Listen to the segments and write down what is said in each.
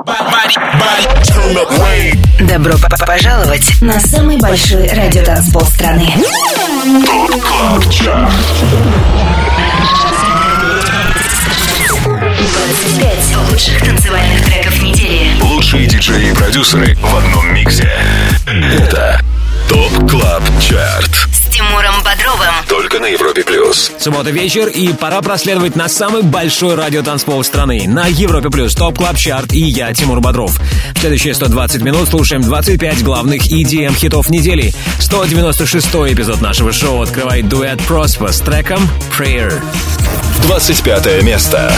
Добро пожаловать на самый большой радиотанцпол страны. ТОП КЛАБ ЧАРТ. 25 лучших танцевальных треков недели. Лучшие диджеи и продюсеры в одном миксе. Это ТОП КЛАБ ЧАРТ С Тимуром Бодровым. Только на Европе Плюс. Суббота вечер, и пора проследовать на самый большой радиотанцпол страны. На Европе Плюс ТОП КЛАБ ЧАРТ, и я, Тимур Бодров. В следующие 120 минут слушаем 25 главных EDM-хитов недели. 196-й эпизод нашего шоу открывает дуэт Prosper с треком Prayer. 25 место.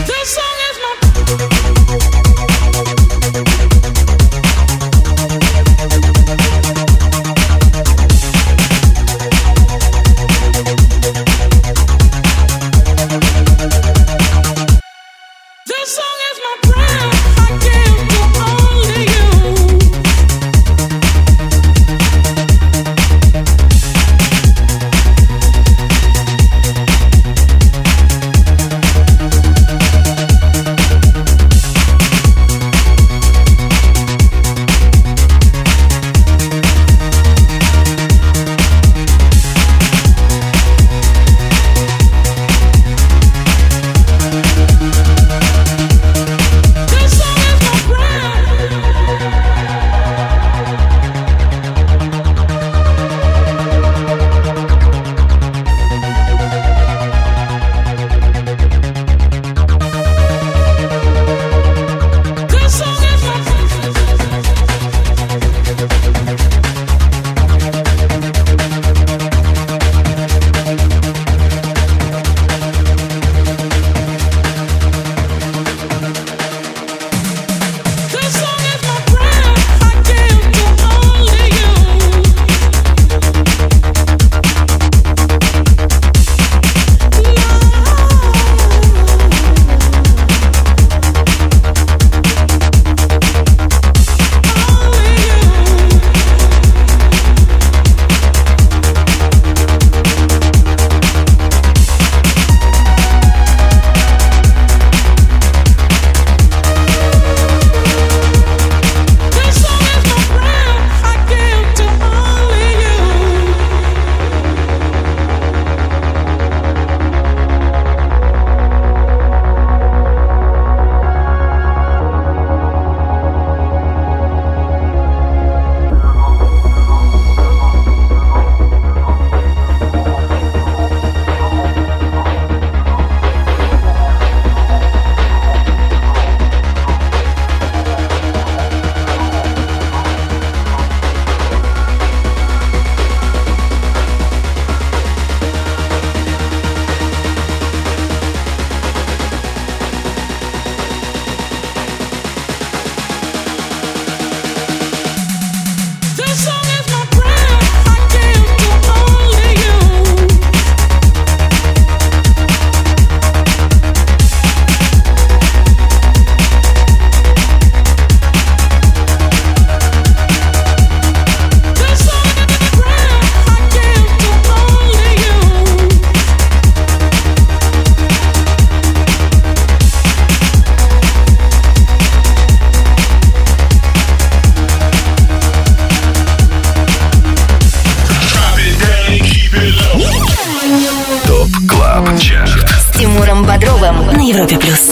С Тимуром Бодровым на Европе Плюс.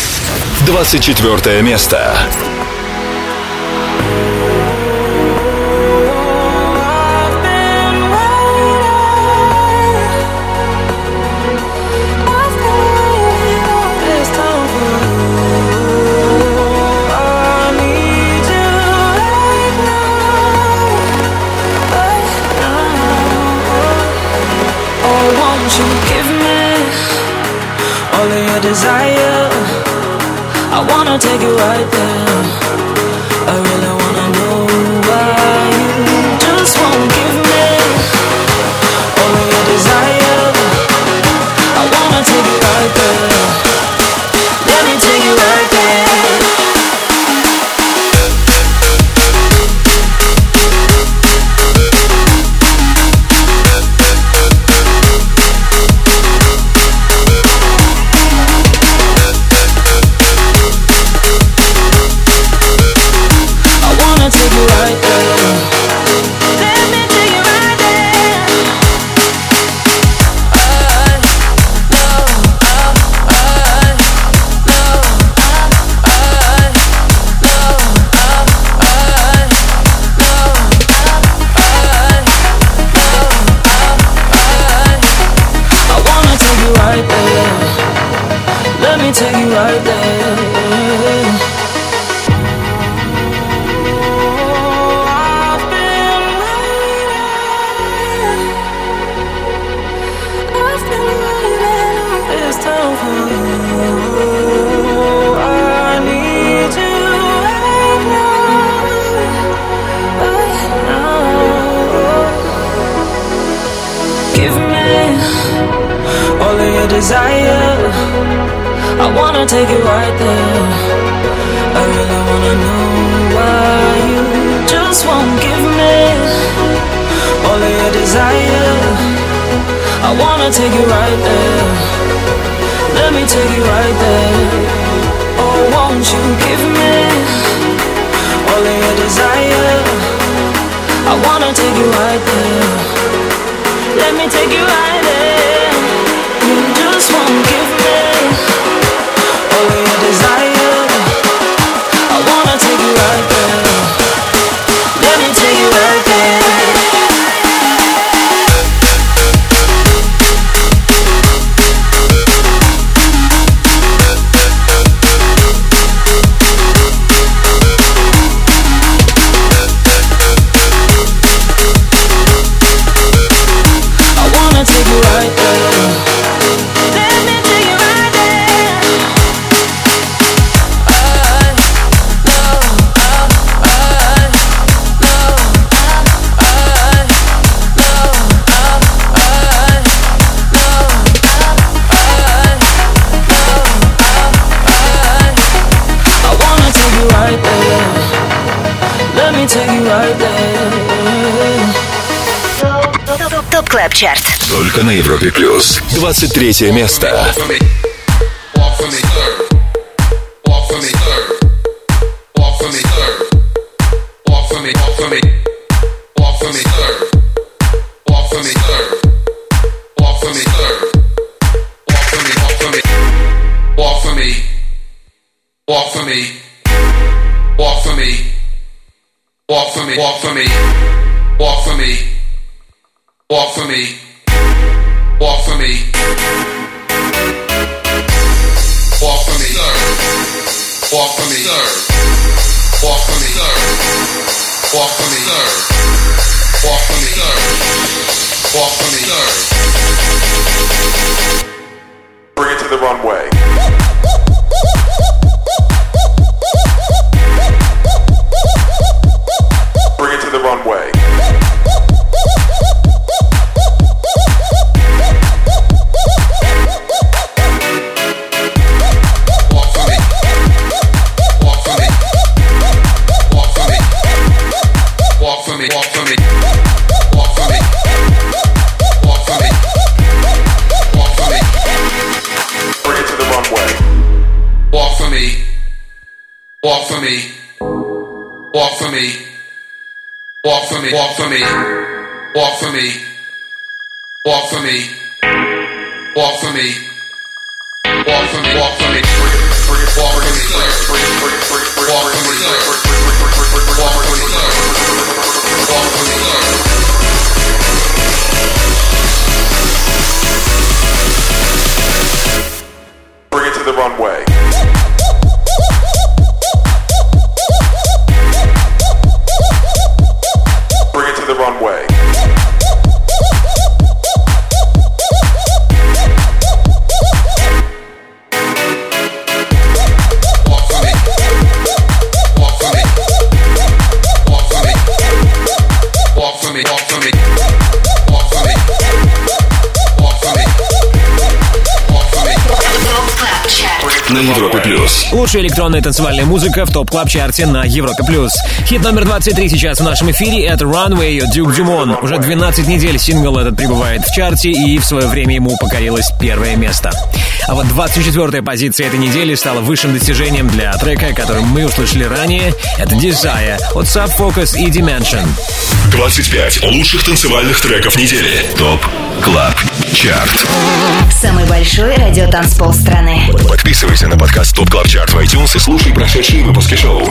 24 место. Desire, I wanna take you right there. I really wanna know why you just won't give me all of your desire. I wanna take you right there. Let me take you right there. right there. I've been waiting on this time for you. I need you right now. Give me all of your desire. I wanna take it right there. I really wanna know why you just won't give me all of your desire. I wanna take it right there. Let me take it right there. Oh, won't you give me all of your desire? I wanna take it right there. Let me take it right there. You just won't give me all of your desire. I wanna take it right there. Let me take it right there. ТОП Клаб Чарт. Только на Европе Плюс. 23 место. Walk for me, walk for me, walk for me, walk for me, walk for me, walk for me, walk for me, walk for me. Bring it to the runway. Bring it to the runway. Walk for me, walk for me, walk for me, walk for me, walk for me, walk for me, walk for me, walk for me, walk for me, walk for me, bring it to the runway. The runway. Walk for me. Walk for me. Walk for me. Walk for me. Walk for me. Walk for me. Walk for me. Walk for me. На Европе Плюс. Лучшая электронная танцевальная музыка в ТОП Клаб Чарте на Европе Плюс. Хит номер 23 сейчас в нашем эфире. Это Runway от Duke Dumont. Уже 12 недель сингл этот пребывает в чарте, и в свое время ему покорилось первое место. А вот 24-я позиция этой недели стала высшим достижением для трека, который мы услышали ранее. Это Desire от Sub Focus и Dimension. 25 лучших танцевальных треков недели. ТОП Клаб Чарт. Самый большой радиотанцпол страны. Подписывайся на подкаст ТОП Клаб Чарт в iTunes и слушай прошедшие выпуски шоу.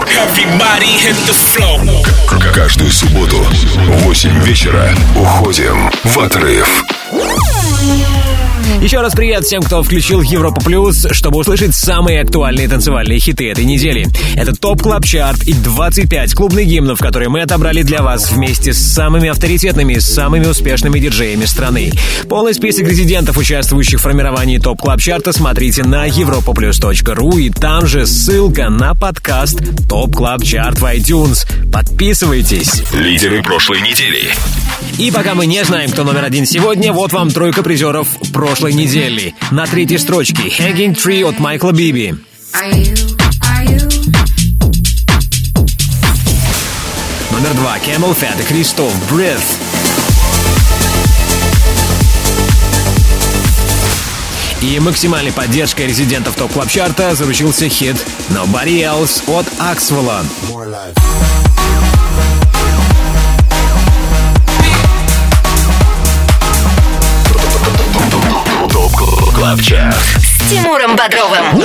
Каждую субботу в 8 вечера уходим в отрыв. Еще раз привет всем, кто включил Европа Плюс, чтобы услышать самые актуальные танцевальные хиты этой недели. Это ТОП Клаб Чарт и 25 клубных гимнов, которые мы отобрали для вас вместе с самыми авторитетными, самыми успешными диджеями страны. Полный список резидентов, участвующих в формировании ТОП Клаб Чарта, смотрите на europaplus.ru, и там же ссылка на подкаст ТОП Клаб Чарт в iTunes. Подписывайтесь. Лидеры прошлой недели. И пока мы не знаем, кто номер один сегодня, вот вам тройка призеров прошлой недели. На 3-й строчке Hanging Tree от Майкла Биби. Номер 2 Camel Fat и Кристоф Breath. И максимальной поддержкой резидентов ТОП Клаб Чарта заручился хит Nobody Else от Аксвелла. ТОП Клаб Чарт С Тимуром Бодровым.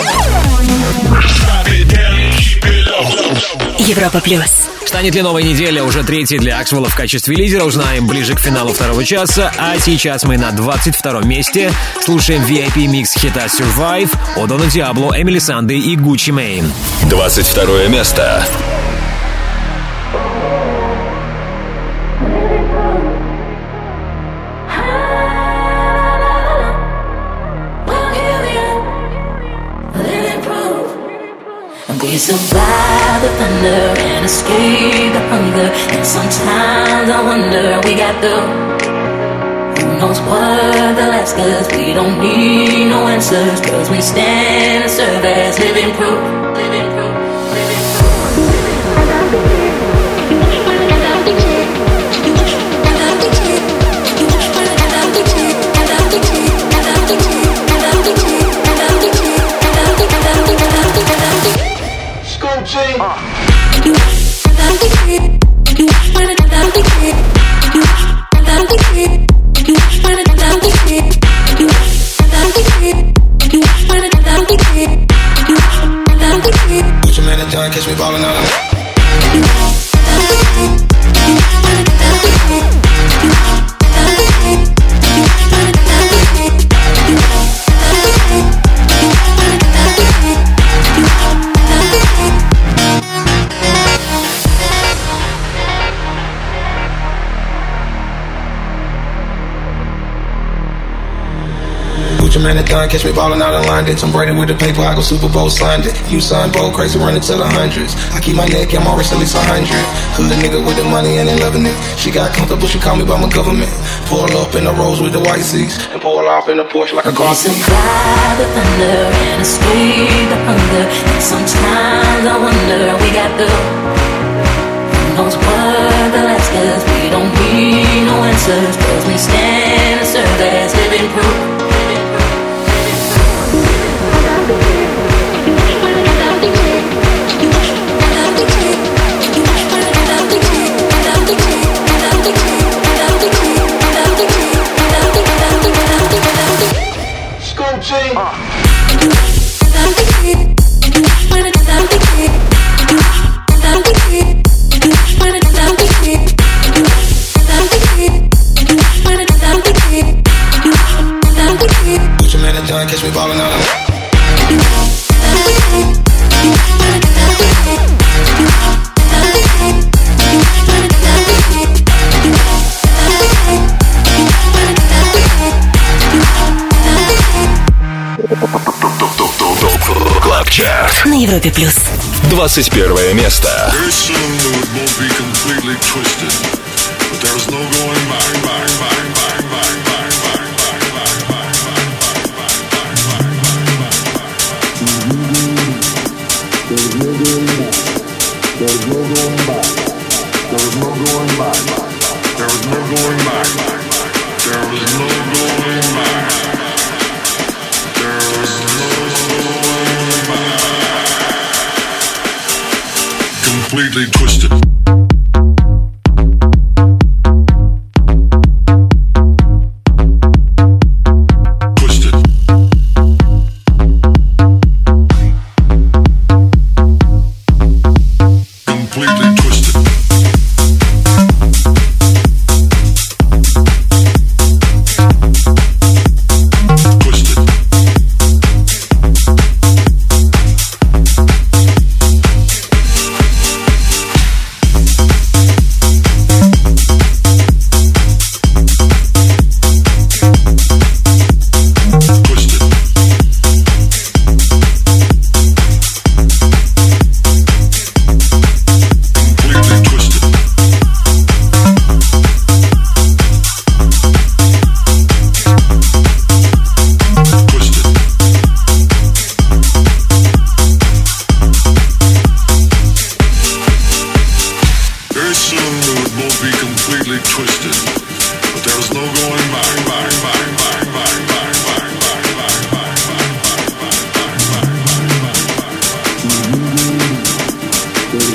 Европа Плюс. Станет ли новая неделя уже третьей для Аксвелла в качестве лидера, узнаем ближе к финалу второго часа. А сейчас мы на 22-м месте. Слушаем VIP-микс хита Survive от Дона Диабло, Эмили Санды и Гуччи Мэйн. 22 место. We survive the thunder and escape the hunger. And sometimes I wonder we got who knows what they'll ask us. We don't need no answers, cause we stand and serve as living proof. Living proof. Catch me ballin' out. Man, it done. Catch me ballin' out in London. Tom Brady with the paper, I go Super Bowl signed it. You signed bold, crazy, running to the hundreds. I keep my neck and my wrist at least 100. Hood nigga with the money and they loving it. She got comfortable, she call me by my government. Pull up in the Rolls with the white seats and pull off in the Porsche like a car. We survive the thunder and escape the hunger. And sometimes I wonder we got who knows what they'll ask us. We don't need no answers, cause we stand and serve as living proof. Catch me ballin' out. Клаб Чарт На Европе Плюс. 21 место. Completely twisted.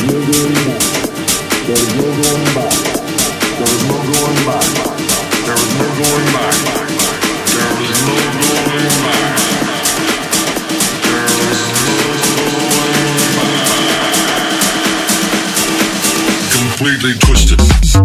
Completely twisted.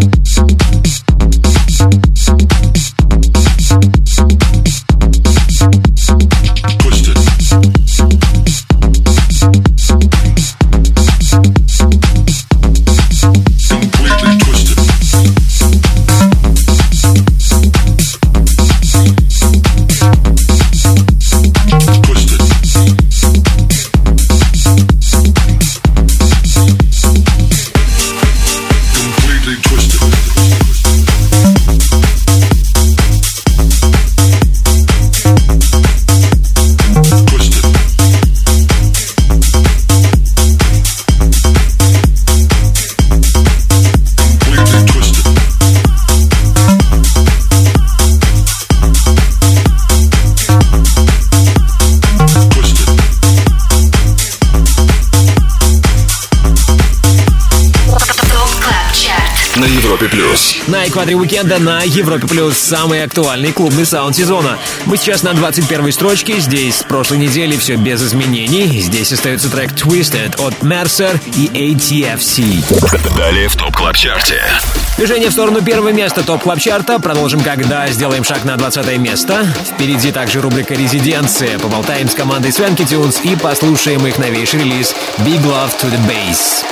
На Европе Плюс. На экваторе уикенда на Европе Плюс самый актуальный клубный саунд сезона. Мы сейчас на 21-й строчке. Здесь с прошлой недели все без изменений. Здесь остается трек Twisted от Mercer и ATFC. Далее в ТОП Клаб Чарте. Движение в сторону первого места ТОП Клаб Чарта. Продолжим, когда сделаем шаг на 20 место. Впереди также рубрика «Резиденция». Поболтаем с командой Swanky Tunes и послушаем их новейший релиз Big Love to the Bass.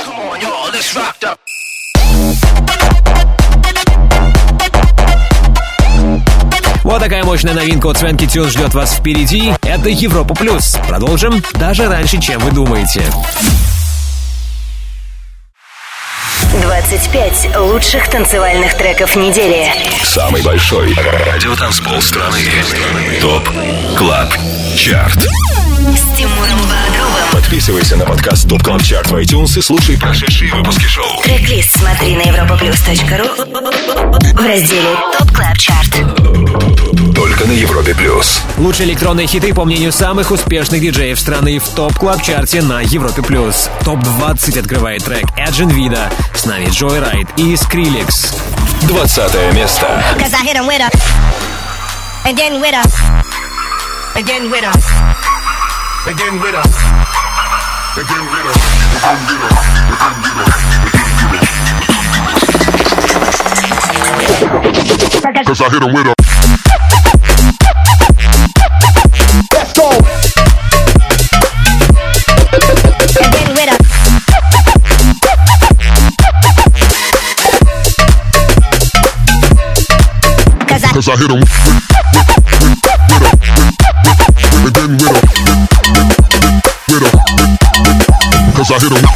Вот такая мощная новинка от Swanky Tunes ждет вас впереди. Это Европа Плюс. Продолжим даже раньше, чем вы думаете. 25 лучших танцевальных треков недели. Самый большой радиотанцпол страны. ТОП Клаб Чарт. С Тимуром Бодровым. Подписывайся на подкаст ТОП Клаб Чарт в iTunes и слушай прошедшие выпуски шоу. Трек-лист смотри на europaplus.ru в разделе ТОП Клаб Чарт. Только на Европе Плюс. Лучшие электронные хиты, по мнению самых успешных диджеев страны, в ТОП Клаб Чарте на Европе Плюс. ТОП-20 открывает трек Эджин Вида, с нами Joyride и Skrillex. 20 место. Cause I hit him with a let's go. Again with a Cause I hit him again with a Cause I hit him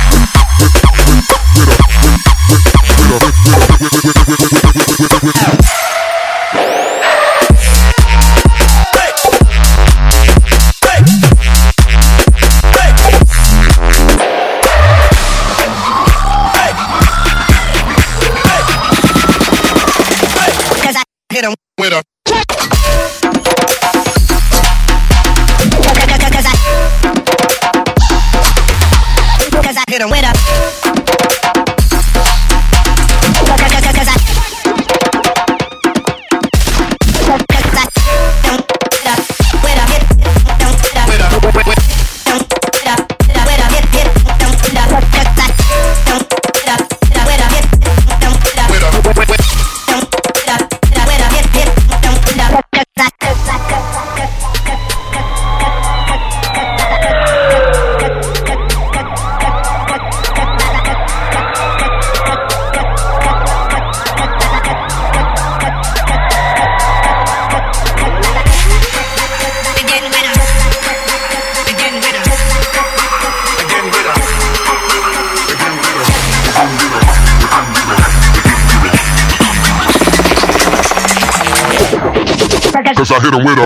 Cause I hit him with a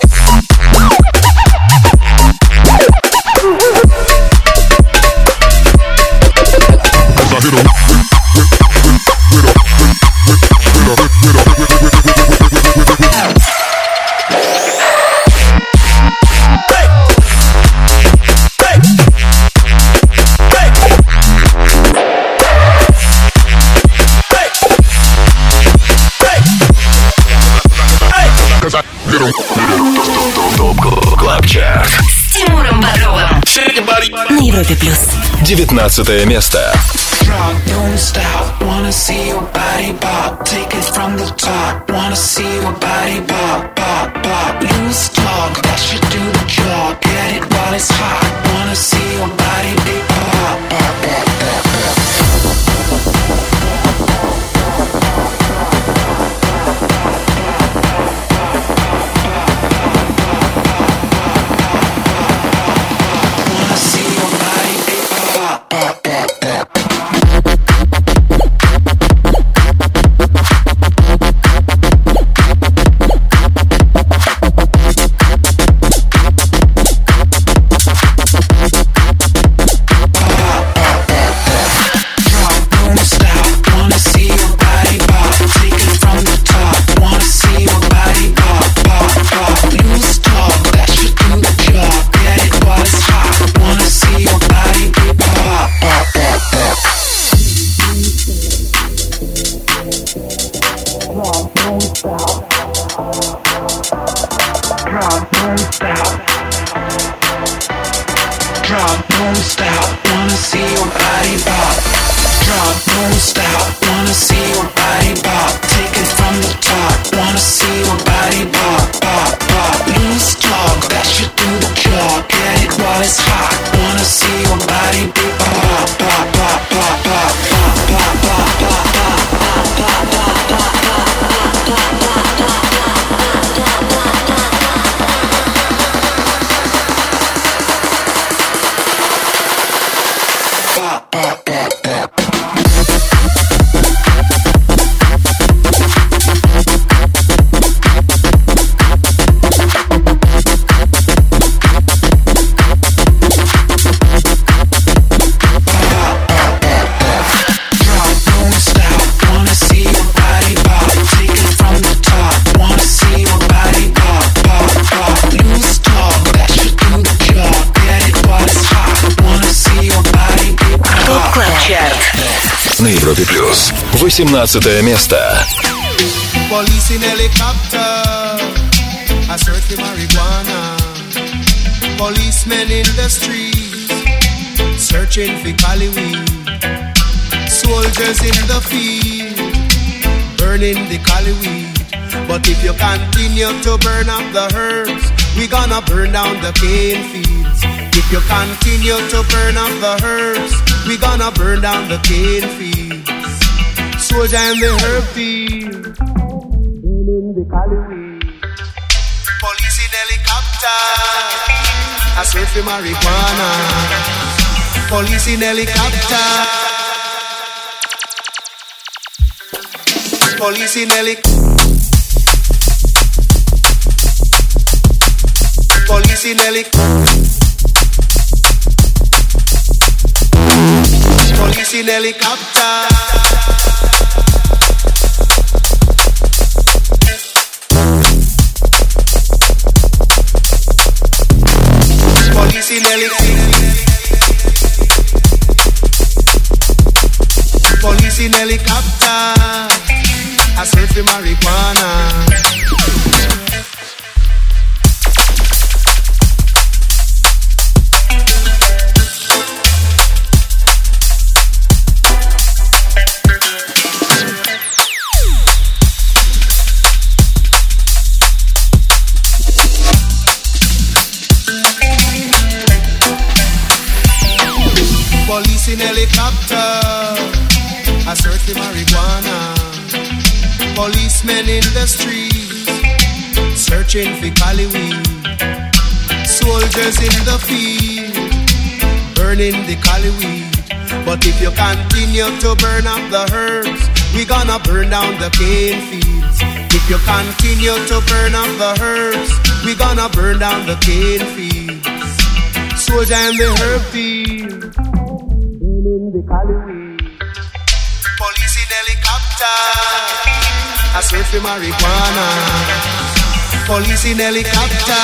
Cause I hit him Европе плюс. 19 место. Drop, don't stop, wanna see your body pop. Take it from the top, wanna see your body pop, pop, pop. Loose talk, that should do the job. Get it while it's hot, wanna see your body pop, pop, pop, pop, pop. На Европе плюс 18 место. Police in helicopter, I search for marijuana. Policemen in the streets, searching for cali weed. Soldiers in the field, burning the cali weed. But if you continue to burn up the herbs, we gonna burn down the cane fields. If you continue to burn up the herbs, we gonna burn down the cane fields. Soldier in the herb field, burning the cali weed. Police in helicopter, I search for marijuana. Police in helicopter, police in helicopter. Police in helicopter. Police in helicopter. Police in helicopter. Police in helicopter. I search for marijuana. Police in helicopter, I search for marijuana. Policemen in the streets, searching for cali weed. Soldiers in the field, burning the cali weed. But if you continue to burn up the herbs, we gonna burn down the cane fields. If you continue to burn up the herbs, we gonna burn down the cane fields. Soldier in the herb field, the cali weed. Police in helicopter, I search for marijuana. Police in helicopter.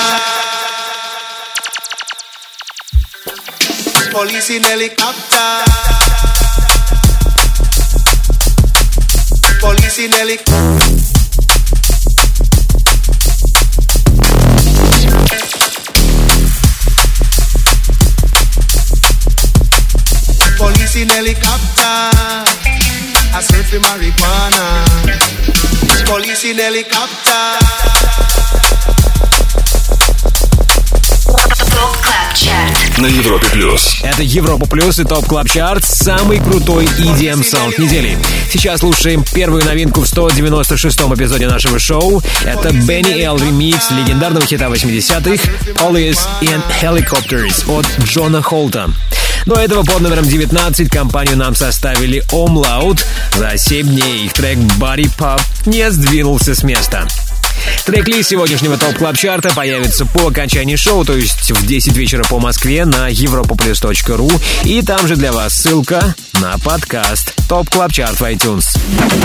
Police in helicopter. Police in helicopter. in helicopter. I search for marijuana. Police in helicopter. ТОП Клаб Чарт На Европе Плюс. Это Европа Плюс и ТОП Клаб Чарт. Самый крутой EDM саунд недели. Сейчас слушаем первую новинку в 196-м эпизоде нашего шоу. Это Benny L ремикс легендарного хита 80-х Police in Helicopters от Джона Холта. До этого под номером 19 компанию нам составили Omlaut. За 7 дней их трек Body Pop не сдвинулся с места. Трек-лист сегодняшнего ТОП Клаб Чарта появится по окончании шоу, то есть в 10 вечера по Москве на europaplus.ru. И там же для вас ссылка на подкаст ТОП Клаб Чарт в iTunes.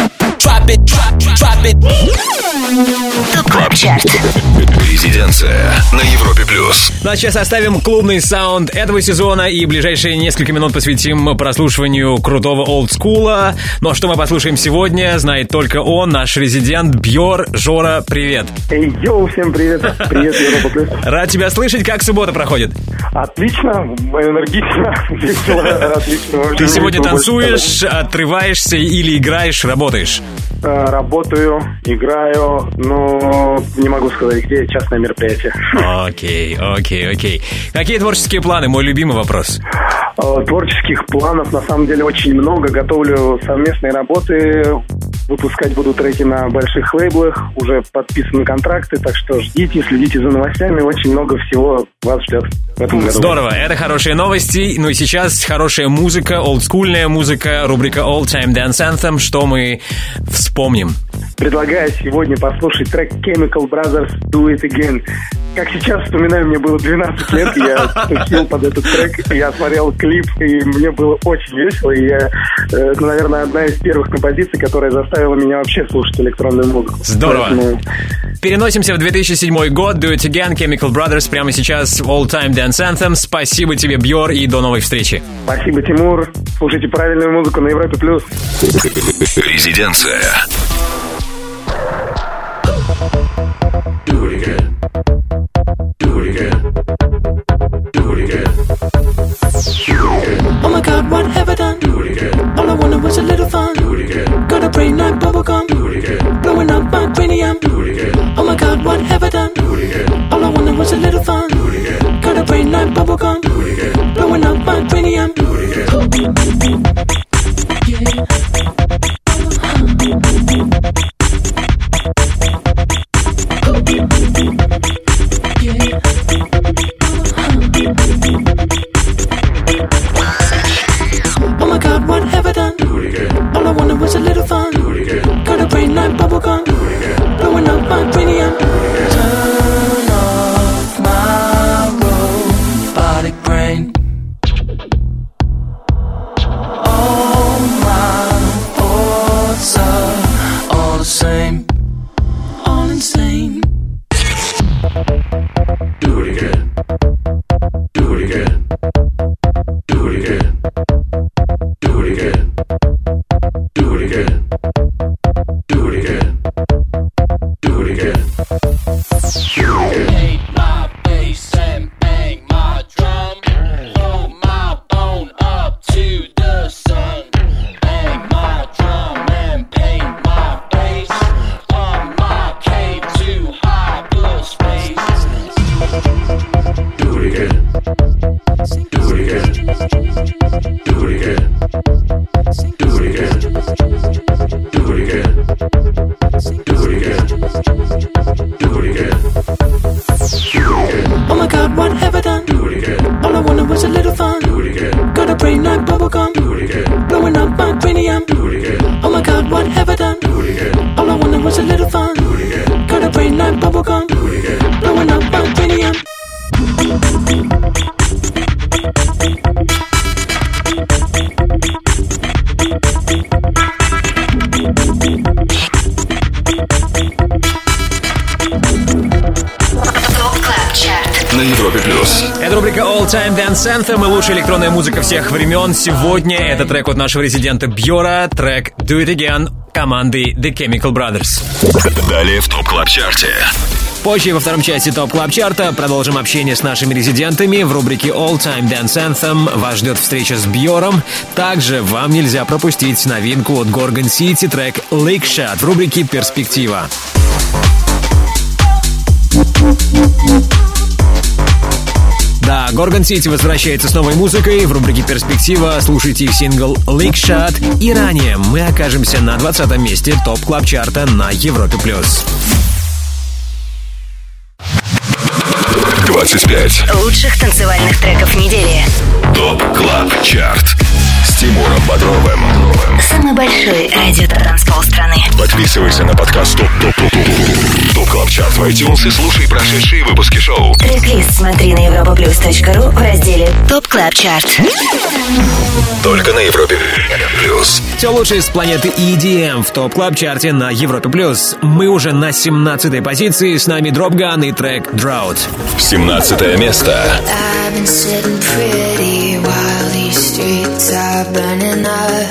ТОП Клаб Чарт. Резиденция на Европе Плюс. Ну а сейчас оставим клубный саунд этого сезона и ближайшие несколько минут посвятим прослушиванию крутого олдскула. Ну а что мы послушаем сегодня, знает только он, наш резидент Бьор. Жора, привет. Эй, йоу, всем привет. Привет, Европа Плюс. Рад тебя слышать. Как суббота проходит? Отлично, энергично, весело, отлично. Ты сегодня танцуешь, отрываешься или играешь, работаешь? Работаю, играю, но не могу сказать, где частное мероприятие. Окей. Какие творческие планы? Мой любимый вопрос. Творческих планов на самом деле очень много. Готовлю совместные работы. Выпускать буду треки на больших лейблах. Уже подписаны контракты, так что ждите, следите за новостями. Очень много всего вас ждет в этом году. Здорово, это хорошие новости. Ну и сейчас хорошая музыка, олдскульная музыка, рубрика All Time Dance Anthem. Что мы вспомним? Предлагаю сегодня послушать трек Chemical Brothers Do It Again. Как сейчас вспоминаю, мне было 12 лет, я тусил под этот трек, я смотрел клип, и мне было очень весело, и это, наверное, одна из первых композиций, которая заставила меня вообще слушать электронную музыку. Здорово. Поэтому... Переносимся в 2007 год, Do It Again, Chemical Brothers, прямо сейчас All Time Dance Anthem. Спасибо тебе, Бьор, и до новой встречи. Спасибо, Тимур. Слушайте правильную музыку на Европе+. Резиденция. Oh my God, what have I done? Do it again. All I wanted was a little fun. Do it again. Got a brain like bubblegum. Do it again. Blowing up my cranium. Do it again. Oh my God, what have I done? Do it again. All I wanted was a little fun. Do it again. Got a brain like bubblegum. Do it again. Blowing up my cranium. Do it again. Yeah. Oh my God, what have I done? Do it again. All I wanted was a little fun. Do it again. Got a brain like bubblegum. Do it again. Blowing up my cranium. Turn off my robotic brain. All my thoughts are all the same. All insane. Do it again. Do it again. Do it again. Do it again. Do it again. Do it again. Do it again. Hate my bass and bang my drum. Throw my bone up to the sun. Bang my drum and paint my bass. On my cave to hyperspace. Do it again. Do it again. Do it again. Do it again. Do it again. Do it again. Do it again. Oh my God, what have I done? Do it again. All I wanted was a little fun. Do it again. Got a brain like bubblegum. Do it again. Blowing up my cranium. Do it again. Oh my God, what have I done? Do it again. All I wanted was a little fun. Do it again. Got a brain like bubblegum. Do it again. Blowing up my cranium. На Европе Плюс. Это рубрика All Time Dance Anthem и лучшая электронная музыка всех времен. Сегодня это трек от нашего резидента Бьора, трек Do It Again команды The Chemical Brothers. Далее в ТОП Клаб Чарте. Позже во втором части ТОП Клаб Чарта продолжим общение с нашими резидентами. В рубрике All Time Dance Anthem вас ждет встреча с Бьором. Также вам нельзя пропустить новинку от Gorgon City, трек Lake Shot в рубрике «Перспектива». Да, Gorgon City возвращается с новой музыкой. В рубрике «Перспектива» слушайте их сингл Lake Shot. И ранее мы окажемся на 20-м месте ТОП Клаб Чарта на Европе+. 25 лучших танцевальных треков недели. ТОП Клаб Чарт с Тимуром Бодровым. Самый большой радиотанцпол страны. Подписывайся на подкаст ТОП Клаб Чарт в iTunes и слушай прошедшие выпуски шоу. Трек-лист смотри на europaplus.ru в разделе ТОП Клаб Чарт. Только на Европе Плюс. Все лучшее с планеты EDM в ТОП Клаб Чарте на Европе Плюс. Мы уже на 17-й позиции. С нами Dropgun и трек Drought. 17-е место. I've been sitting pretty while these streets are burning up,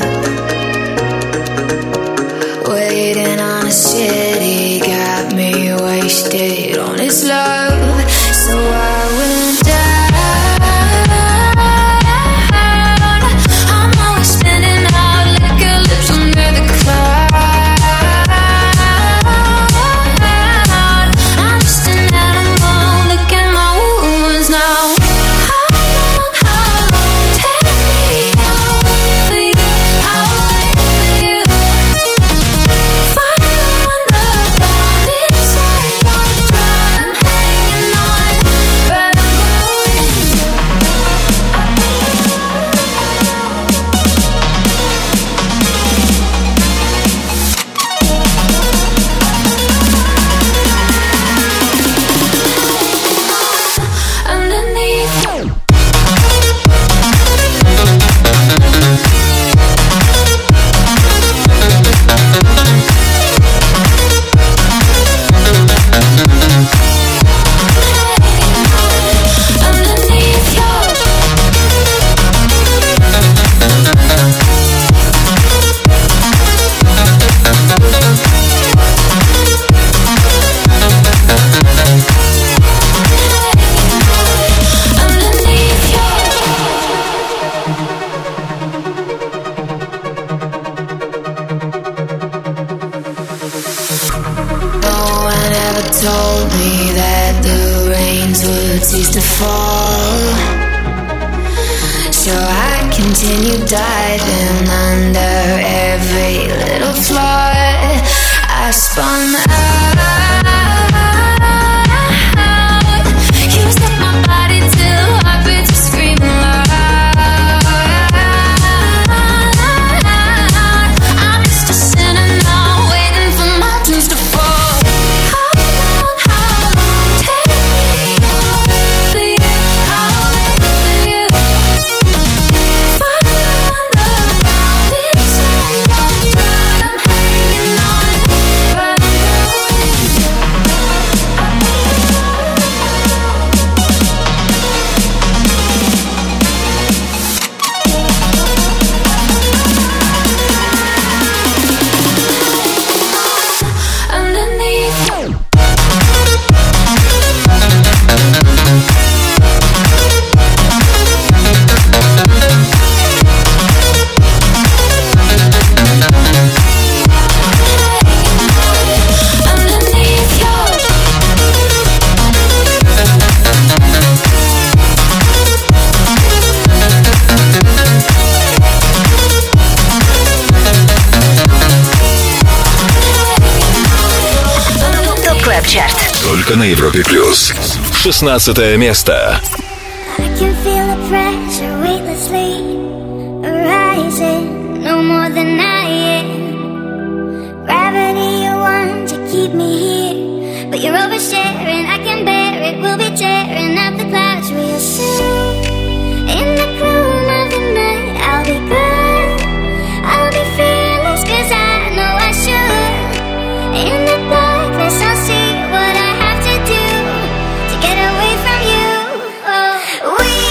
waiting on a city, got me wasted on its love. So I went down. I'm always spinning out like a lips under the cloud. I'm just an animal, look at my wounds now. How long, take me out for you, I'll wait for you. Fire on the ground, inside my drum, hanging on, but I'm underneath. Underneath yours. Underneath yours. No one ever told me that the rains would cease to fall. So I continued diving under every little flaw. I spun out. Used up my body till heartbeats were screaming loud. I'm just a sinner now, waiting for my dues to fall. How long, take me out for you, I'll wait for you. Fire on the ground, inside my blood, I'm hanging on, but I'm underneath. Underneath yours. ТОП Клаб Чарт. Только на Европе Плюс. 16-е место. I can feel the pressure weightlessly rising, no more than I am. Gravity, you want to keep me here, but you're oversharing. I can bear it. We'll be tearing up the clouds real soon. In the gloom of the night, I'll be good. I'll be fearless 'cause I know I should. In the darkness, I'll see what I have to do to get away from you. Oh, we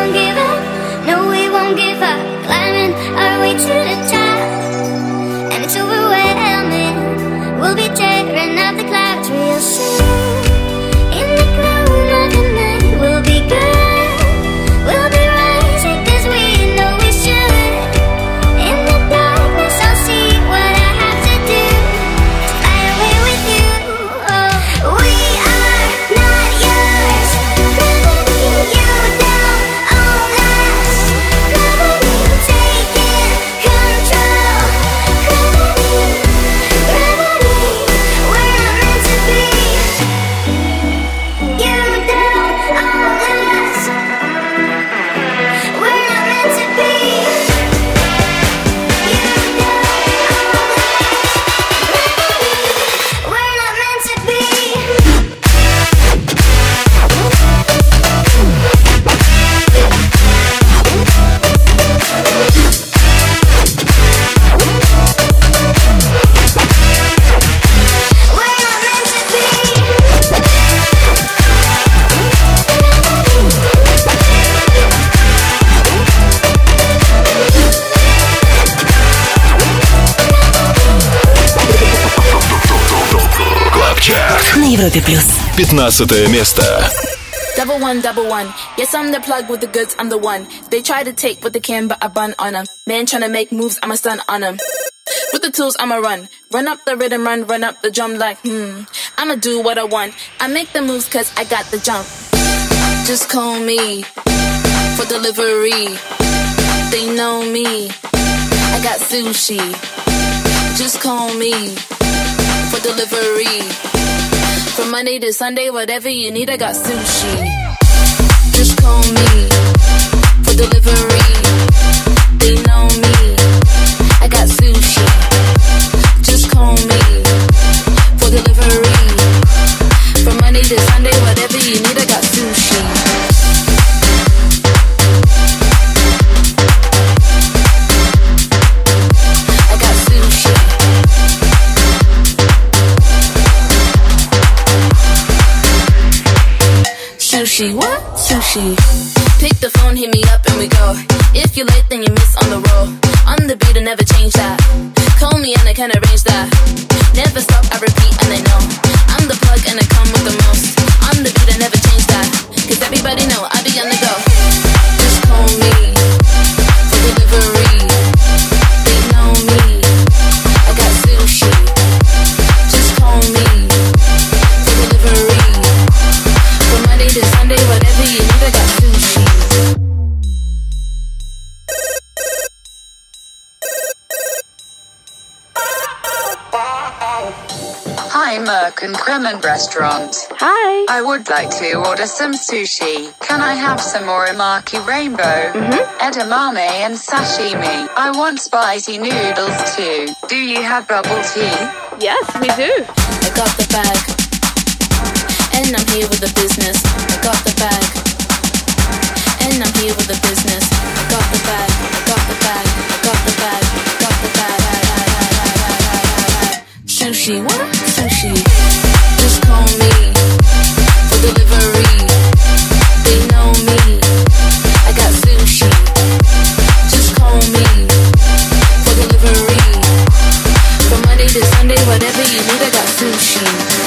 won't give up. No, we won't give up. Climbing our way to the top, and it's overwhelming. We'll be tearing up the clouds real soon. In the glow of the night, we'll be good. We'll be rising 'cause we know we should. In the darkness, I'll see what I have to do to fly away with you. Oh, we are not yours. Gravity, you down on us. Gravity taking control. Gravity, we're not meant to be. You down on us. We're not meant to be. You down on us. We're not meant to be. We're not meant to be. Клаб Чарт. На Европе плюс. 15 место. Double one. Yes, I'm the plug with the goods, I'm the one. They try to take what they can, but I bun on them. Man tryna make moves, I'm a stun on them. With the tools, I'ma run. Run up the rhythm, run up the drum like, I'ma do what I want. I make the moves 'cause I got the jump. Just call me for delivery. They know me. I got sushi. Just call me for delivery. From Monday to Sunday, whatever you need, I got sushi. Just call me for delivery. They know me. I got sushi. Just call me for delivery. From Monday to Sunday, whatever you need, I got sushi. I got sushi. Sushi, what? Sushi. Pick the phone, hit me up and we go. If you're late, then you miss on the roll. On the beat, I never change that. Call me and I can arrange that. Never stop, I repeat and I know. I'm the plug and I come with the most. On the beat, I never change that. 'Cause everybody know I be on the go. Just call me for delivery. They know me. I got sushi. Just call me for delivery. From Monday to Sunday, whatever you need, I got sushi. Hi, Merck and Kremen Restaurant. Hi. I would like to order some sushi. Can I have some Uramaki Rainbow, edamame and sashimi? I want spicy noodles too. Do you have bubble tea? Yes, we do. I got the bag, and I'm here with the business. I got the bag, and I'm here with the business. I got the bag, I got the bag, I got the bag, I got the bag. Sushi, what? Sushi. Just call me for delivery. They know me. I got sushi. Just call me for delivery. From Monday to Sunday, whatever you need, I got sushi.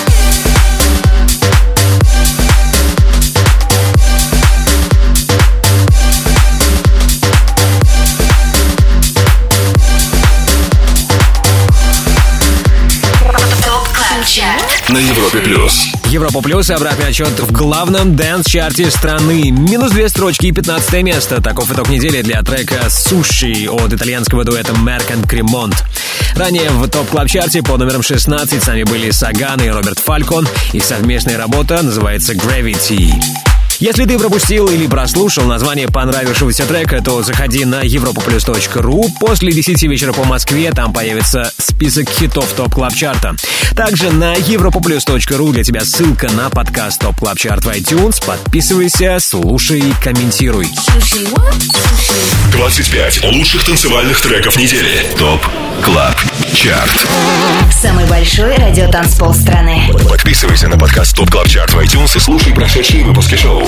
На Европе плюс. Европа плюс и обратный отчет в главном дэнс-чарте страны. Минус 2 строчки и 15 место. Таков итог недели для трека «Суши» от итальянского дуэта Merck and Cremont. Ранее в топ-клаб-чарте по номерам 16 с нами были Саган и Роберт Фалькон. Их совместная работа называется «Gravity». Если ты пропустил или прослушал название понравившегося трека, то заходи на europaplus.ru. После 10 вечера по Москве там появится список хитов ТОП Клаб Чарта. Также на europaplus.ru для тебя ссылка на подкаст ТОП Клаб Чарт в iTunes. Подписывайся, слушай, комментируй. 25 лучших танцевальных треков недели. ТОП Клаб Чарт. Самый большой радиотанцпол страны. Подписывайся на подкаст Top Club Chart в iTunes и слушай прошедшие выпуски шоу.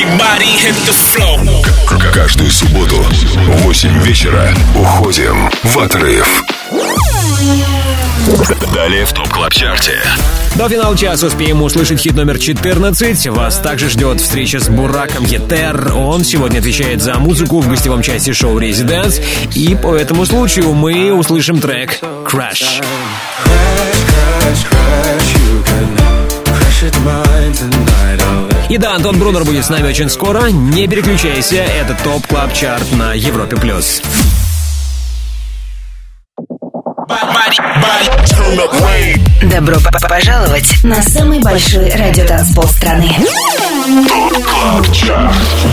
Каждую субботу в 8 вечера уходим в отрыв. Далее в ТОП Клаб Чарте. До финала часа успеем услышать хит номер 14. Вас также ждет встреча с Бураком Етер. Он сегодня отвечает за музыку в гостевом части шоу «Резиденс». И по этому случаю мы услышим трек «Crash». И да, Антон Брунер будет с нами очень скоро. Не переключайся, это ТОП Клаб Чарт на Европе+. Добро пожаловать на самый большой радиотанцпол страны. ТОП Клаб Чарт.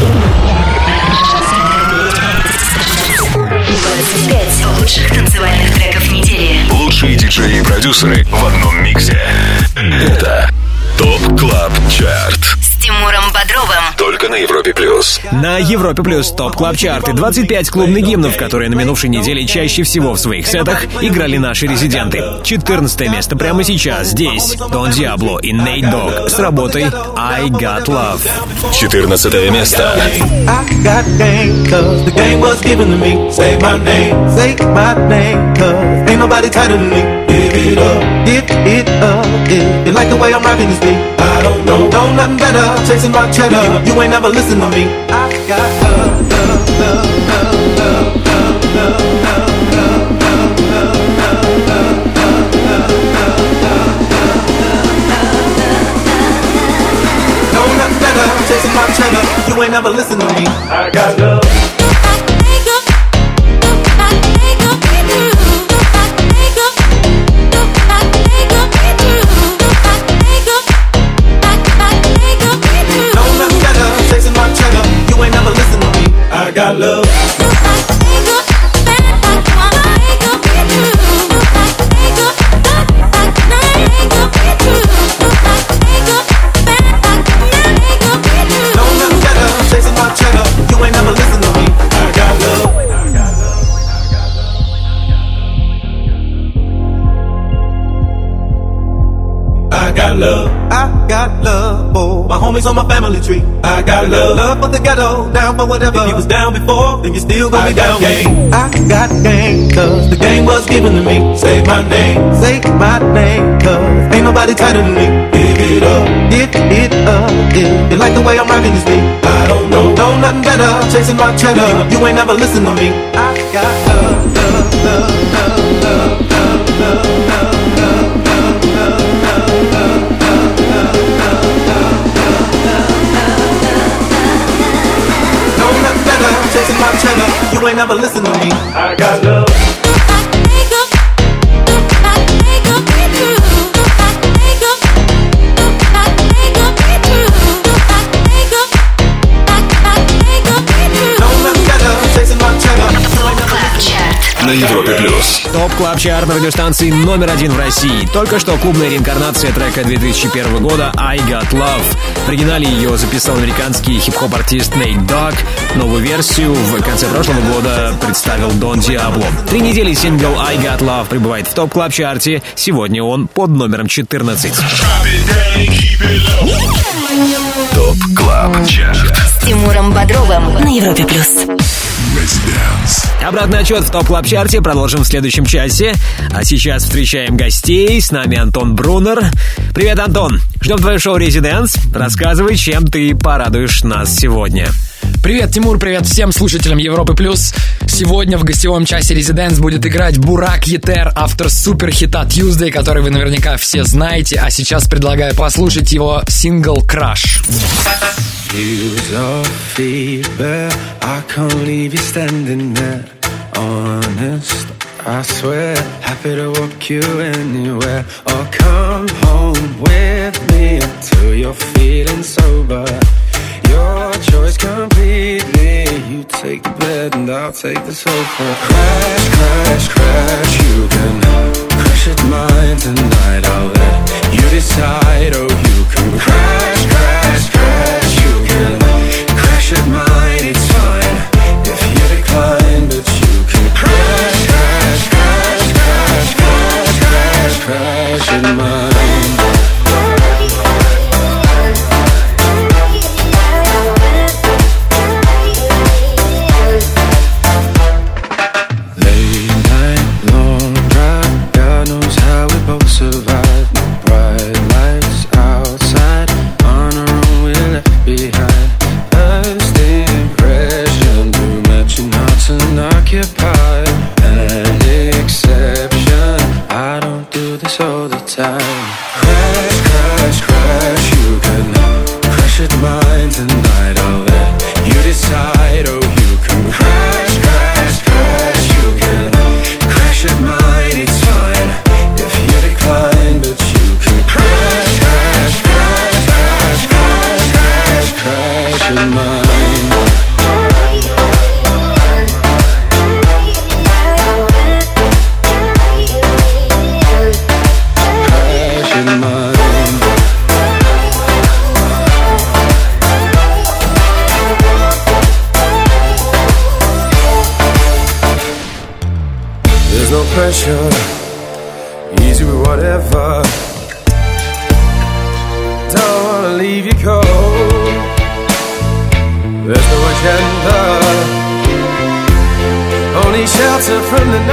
25 лучших танцевальных треков недели. Лучшие диджеи и продюсеры в одном миксе. Это ТОП Клаб Чарт. С Тимуром Бодровым. Только на Европе+. На Европе Плюс ТОП Клаб Чарт и 25 клубных гимнов, которые на минувшей неделе чаще всего в своих сетах играли наши резиденты. 14 место прямо сейчас. Здесь Дон Диабло и Nate Dogg с работой I Got Love. 14 место. I got game, cause the game was given to me. Say my name, cause ain't nobody tighter than me. Give it up, if you like the way I'm rocking this beat. I don't know nothing better, chasing my cheddar. You ain't never listen to me. I got love, love, love, love, love, love, love, love, love, love, love. Know nothing better, chasing my cheddar. You ain't never listen to me. I got love. I got love. I got love for my homies on my family tree. I got love for the ghetto, down for whatever. If you was down before, then you still gonna be down. Game. I got game, cause the game was given to me. Say my name, cause ain't nobody tighter than me. Give it up, if you like the way I'm rocking this beat. I don't know nothing better, chasing my cheddar. You ain't never listen to me. I got love, love, love, love, love, love, love, love, love. Chasing my cheddar, you ain't never listen to me. I got love. На Европе Плюс. ТОП Клаб Чарт на радиостанции номер 1 в России. Только что клубная реинкарнация трека 2001 года I Got Love. В оригинале ее записал американский хип-хоп-артист Nate Dogg. Новую версию в конце прошлого года представил Дон Диабло. 3 недели сингл I Got Love прибывает в ТОП Клаб Чарте. Сегодня он под номером 14. ТОП Клаб Чарт. С Тимуром Бодровым на Европе Плюс. Обратный отчет в ТОП Клаб Чарте продолжим в следующем часе. А сейчас встречаем гостей. С нами Антон Брунер. Привет, Антон. Ждем твое шоу «Резиденс». Рассказывай, чем ты порадуешь нас сегодня. Привет, Тимур, привет всем слушателям Европы+. Сегодня в гостевом часе «Резиденс» будет играть Бурак Етер, автор суперхита «Tuesday», который вы наверняка все знаете. А сейчас предлагаю послушать его сингл «Crash». Use your feedback, I can't leave you standing there. Honest, I swear, happy to walk you anywhere. Or come home with me until you're feeling sober. Your choice completely. You take the bed and I'll take the sofa. Crash, crash, crash. You can crash at mine tonight. I'll let you decide. Oh, you can crash, crash, crash. You can crash at mine. It's fine if you decline, but you can crash, crash, crash, crash, crash. pressure, easy with whatever. Don't wanna leave you cold. There's no agenda, only shelter from the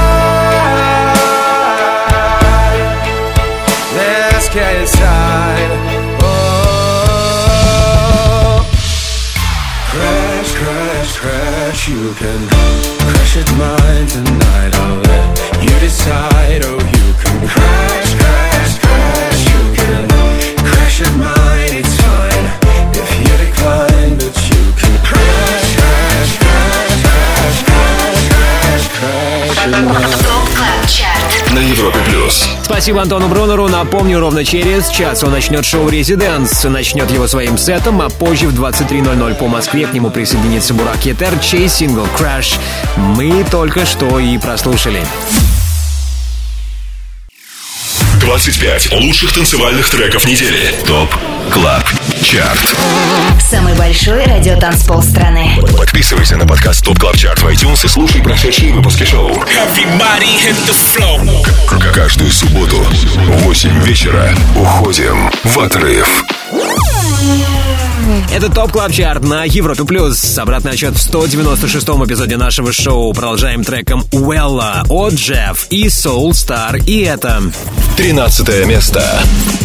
night. Let's get inside. Oh, crash, crash, crash. You can crash at mine tonight. I'll let you decide. Oh, you can crash, crash, crash. You can crash at mine. It's fine if you decline, but you can crash, crash, crash, crash, crash, crash, crash at mine. На Европе Плюс. Спасибо Антону Брунеру. Напомню, ровно через час он начнет шоу «Резиденс». Начнет его своим сетом, а позже в 23:00 по Москве к нему присоединится Бурак Етер, чей сингл «Crash» мы только что и прослушали. 25 лучших танцевальных треков недели. ТОП КЛАБ ЧАРТ. Самый большой радиотанцпол страны. Подписывайся на подкаст ТОП КЛАБ ЧАРТ в iTunes и слушай прошедшие выпуски шоу. Каждую субботу в 8 вечера уходим в отрыв. Это ТОП КЛАБ ЧАРТ на Европе Плюс. Обратный отчет в 196-м эпизоде нашего шоу. Продолжаем треком «Уэлла» от Джефф и Soul Star. И это 13 место.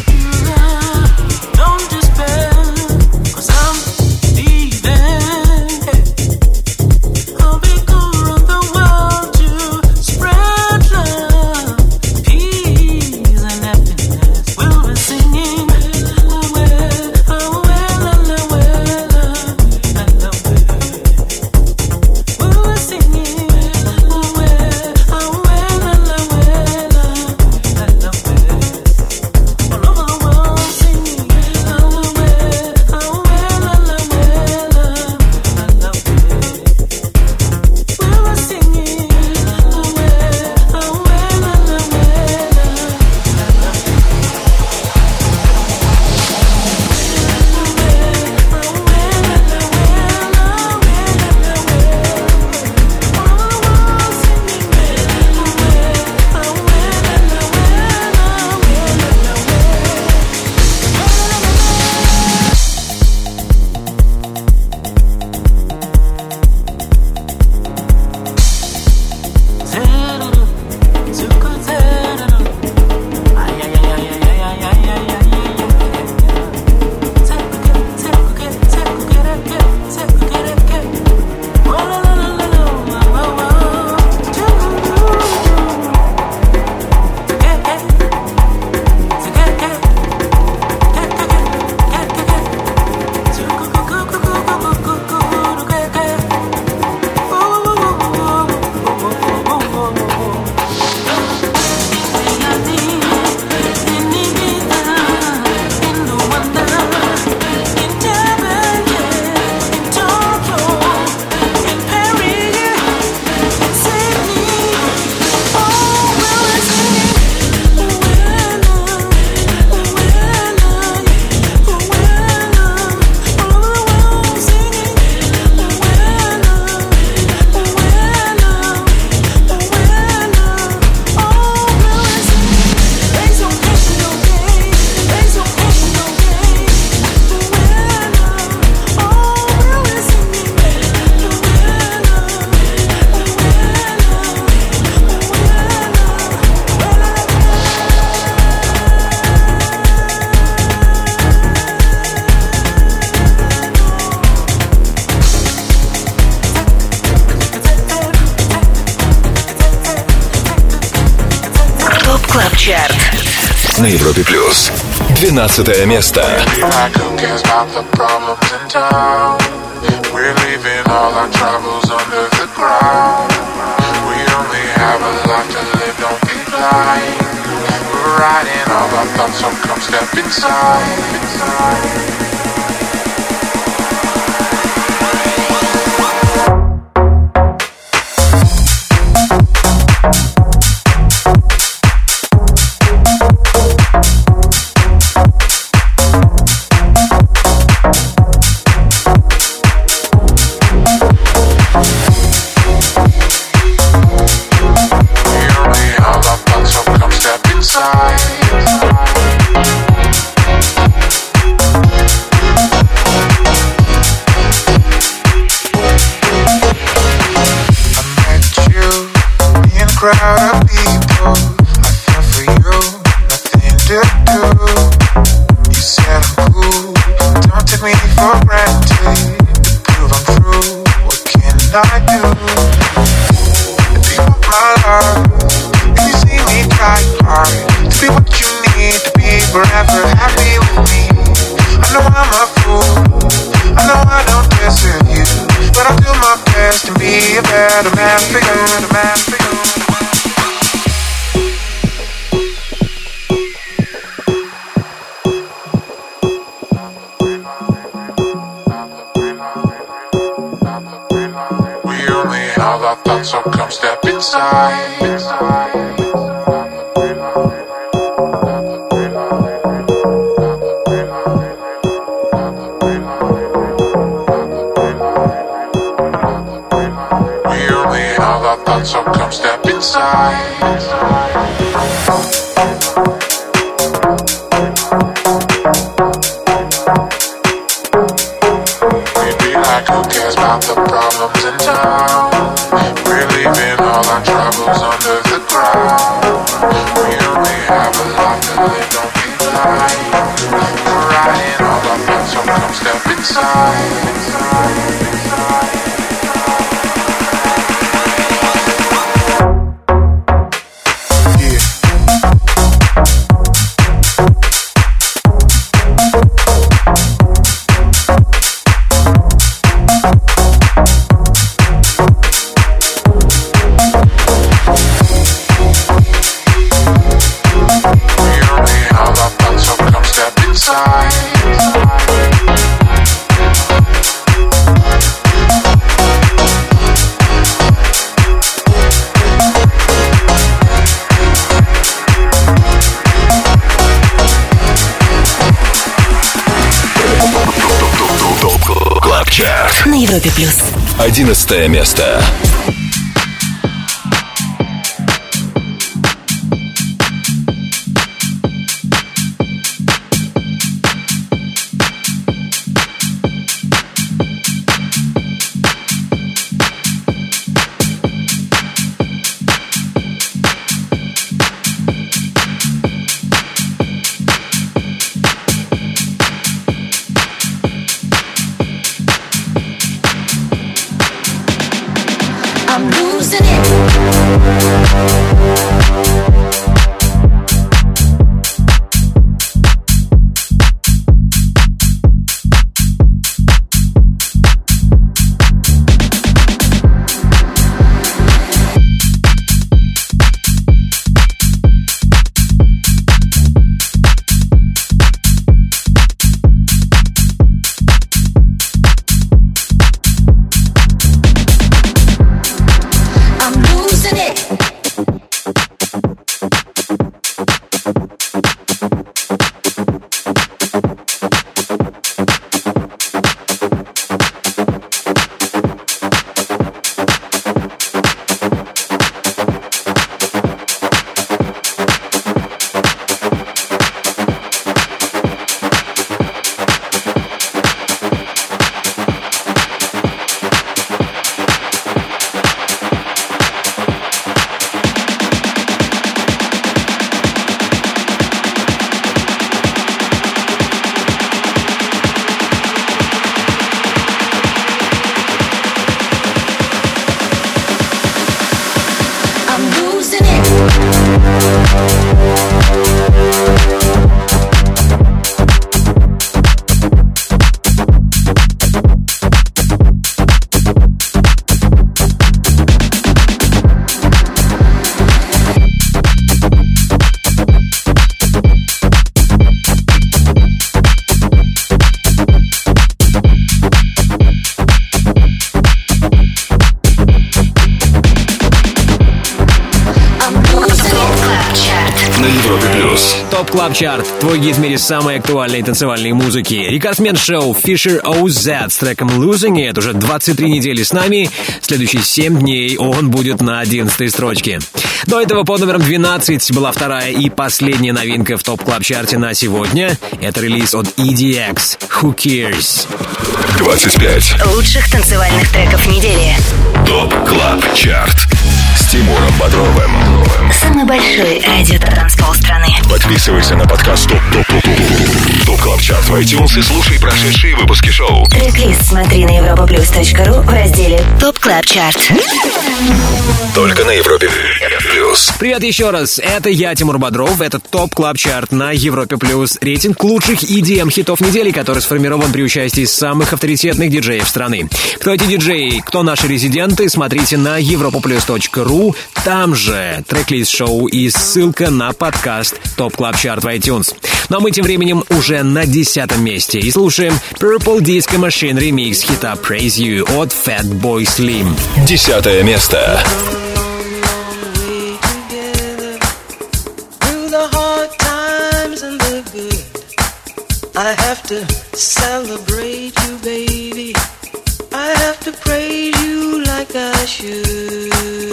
На Европе Плюс. 12 место. We only I do. Deep of my love, and you see me try hard to be what you need to be forever happy with me. I know I'm a fool, I know I don't deserve you, but I'll do my best to be a better man for you, a man for you. Our thoughts, so come step inside. We only have our thoughts, so come step inside. Who cares about the problems in town? We're leaving all our troubles under the ground. We only have a life to live, don't be blind. We're riding all our thoughts, so come step inside. На Европе плюс. 11 место. ТОП Клаб Чарт. Твой гид в мире самой актуальной танцевальной музыки. Рекордсмен шоу Fisher OZ с треком Losing It уже 23 недели с нами. Следующие 7 дней он будет на 11-й строчке. До этого под номером 12 была вторая и последняя новинка в ТОП Клаб Чарте на сегодня. Это релиз от EDX Who Cares. 25 лучших танцевальных треков недели. ТОП Клаб Чарт с Тимуром Бодровым. Самый большой радиотанцпол страны. Подписывайся на подкаст ТОП КЛАБ ЧАРТ в iTunes и слушай прошедшие выпуски шоу. Трек-лист смотри на europaplus.ru в разделе ТОП КЛАБ ЧАРТ. Только на Европе Плюс. Привет еще раз, это я, Тимур Бодров, это ТОП КЛАБ ЧАРТ на Европе Плюс. Рейтинг лучших EDM-хитов недели, который сформирован при участии самых авторитетных диджеев страны. Кто эти диджеи, кто наши резиденты, смотрите на europaplus.ru. Там же трек-лист шоу и ссылка на подкаст ТОП КЛАБ ЧАРТ в iTunes. Ну а мы тем временем уже на 10-м месте и слушаем Purple Disco Machine ремикс хита Praise You от Fatboy Slim. 10-е место. I have to celebrate you, baby. I have to praise you like I should.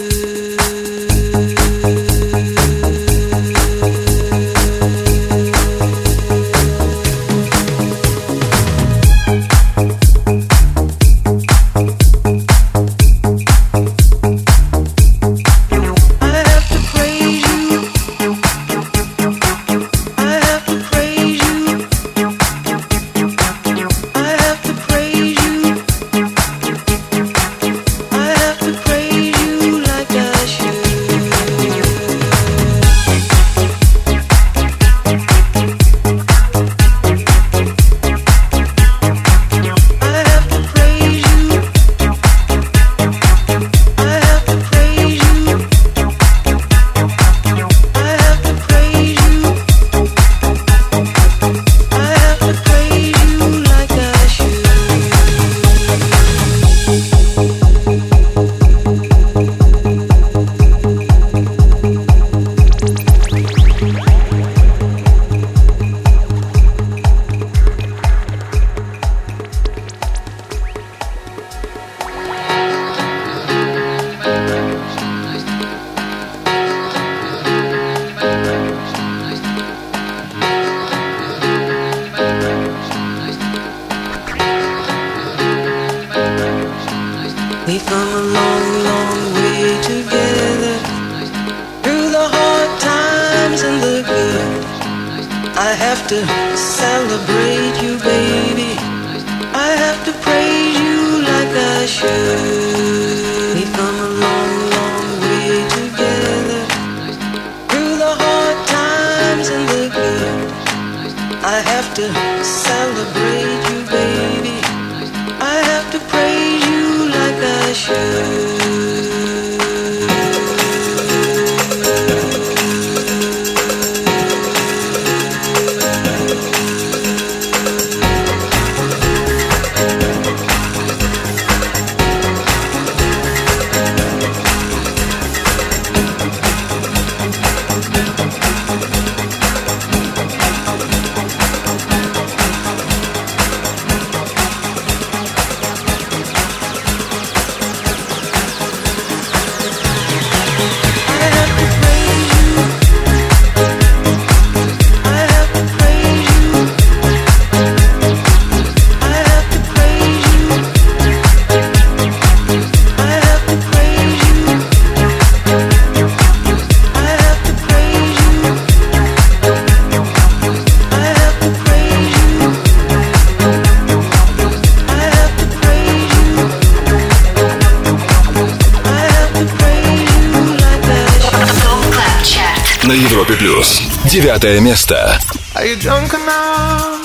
На Европе Плюс. 9-е место. Are you drunk enough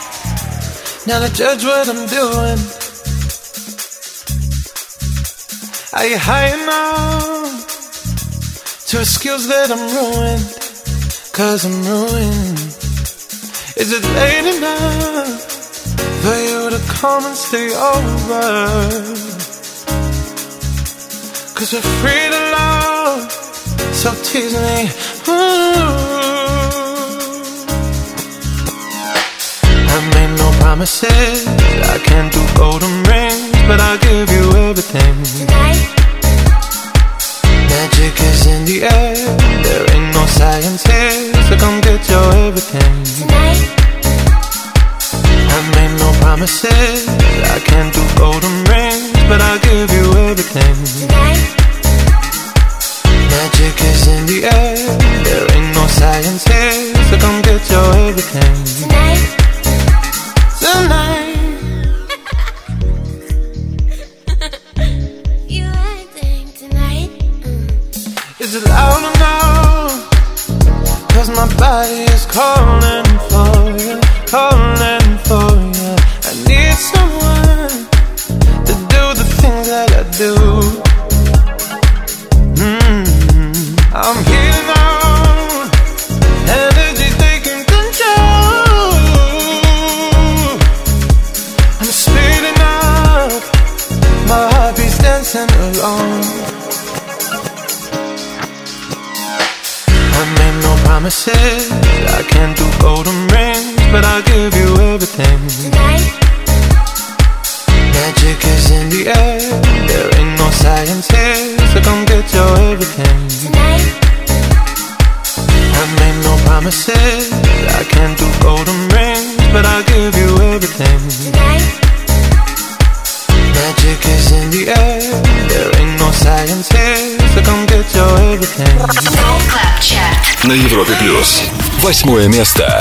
now to judge what I'm doing? Are you high enough to excuse that I'm ruined? 'Cause I'm ruined. Is it late enough for you to come and stay over? 'Cause we're free to love, so tease me. I made no promises, I can't do golden rings, but I'll give you everything. Tonight. Magic is in the air, there ain't no science here, so come get your everything. Tonight. I made no promises, I can't do golden rings, but I'll give you everything. Tonight. Magic Magic is in the air. There ain't no science here, so come get your everything tonight. You acting tonight? Is it loud enough? 'Cause my body is calling for you, calling for you. I need someone to do the things that I do. I'm here now, energy taking control. I'm speeding up, my heart beats dancing along. I made no promises, I can't do golden rings, but I'll give you everything tonight. Magic is in the air, there ain't no science here, so come get your everything tonight. I made no promises, I can't do golden rings, but I'll give you everything tonight. Magic is in the air, there ain't no science here, so come get your everything. Топ Клаб Чарт на Европе Плюс. 8 место.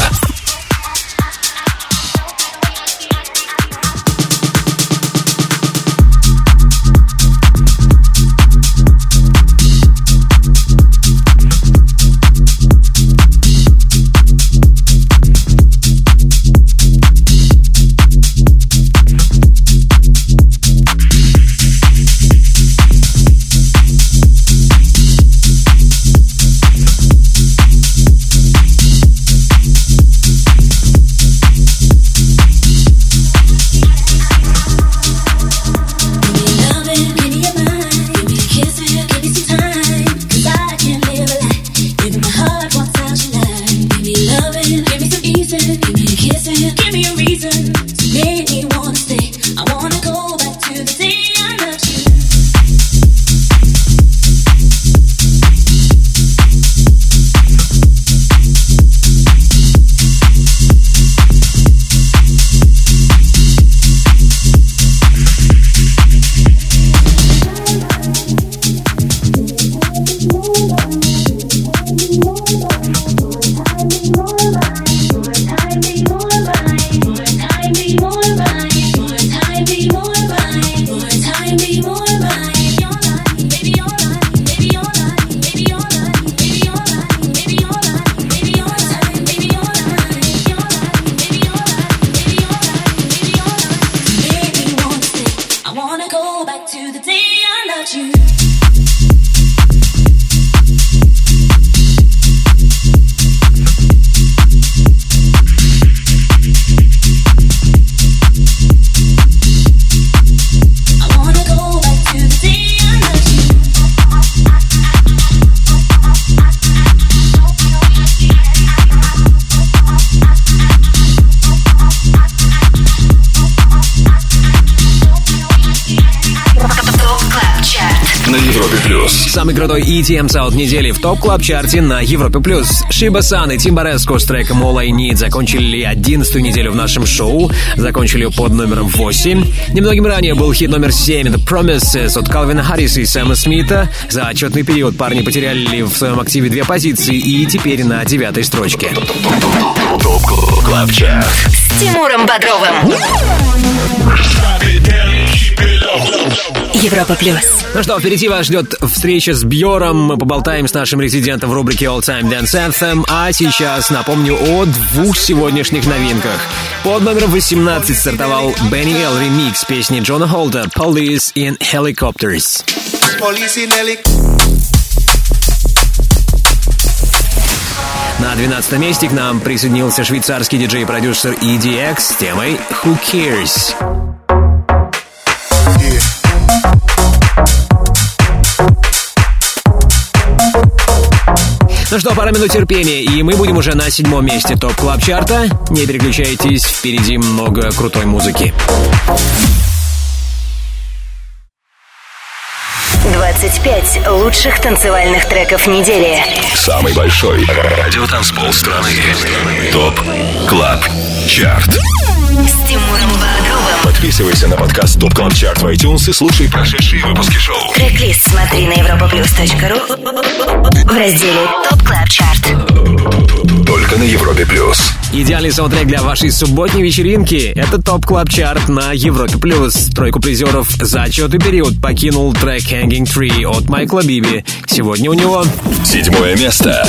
Самый крутой EDM саунд недели в ТОП Клаб Чарте на Европе+. Shiba San и Timbaresco с треком All I Need закончили 11-ю неделю в нашем шоу. Закончили ее под номером 8. Немногим ранее был хит номер 7 The Promises от Калвина Харриса и Сэма Смита. За отчетный период парни потеряли в своем активе 2 позиции и теперь на 9-й строчке. ТОП Клаб Чарт с Тимуром Бодровым. Европа Плюс. Ну что, впереди вас ждет встреча с Бьором. Мы поболтаем с нашим резидентом в рубрике All Time Dance Anthem. А сейчас напомню о 2 сегодняшних новинках. Под номером 18 стартовал Benny L ремикс песни Джона Холта Police in Helicopters. На 12 месте к нам присоединился швейцарский диджей-продюсер EDX с темой Who Cares? Ну что, пара минут терпения, и мы будем уже на 7-м месте ТОП Клаб Чарта. Не переключайтесь, впереди много крутой музыки. 25 лучших танцевальных треков недели. Самый большой радиотанцпол страны. ТОП Клаб Чарт. С Тимуром Бодровым. Подписывайся на подкаст ТОП Клаб Чарт в iTunes и слушай прошедшие выпуски шоу. Трек-лист смотри Смотри на europaplus.ru в разделе ТОП Клаб Чарт. Только на Европе Плюс. Идеальный саундтрек для вашей субботней вечеринки — это ТОП Клаб Чарт на Европе Плюс. Тройку призеров за отчетный период покинул трек Hanging Tree от Майкла Биби. Сегодня у него 7 место.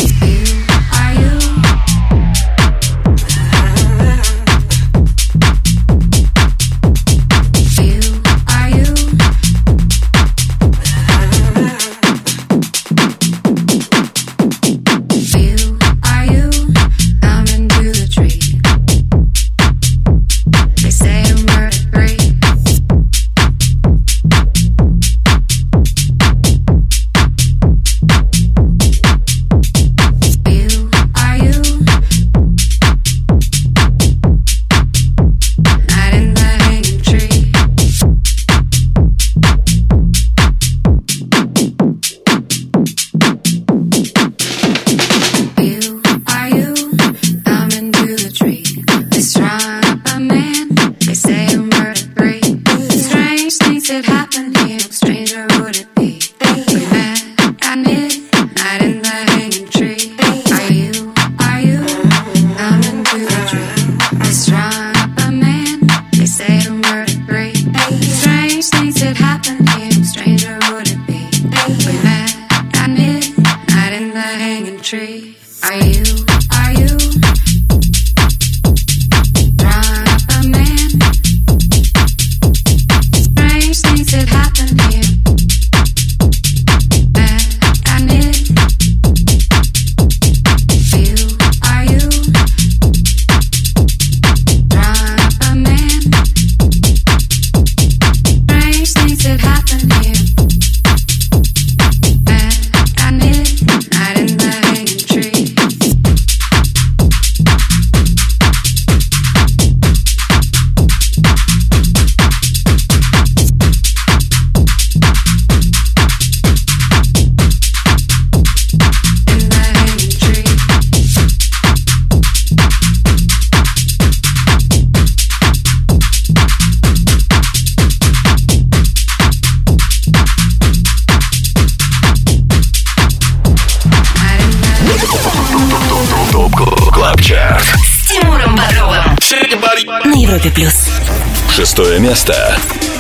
На Европе Плюс. 6 место.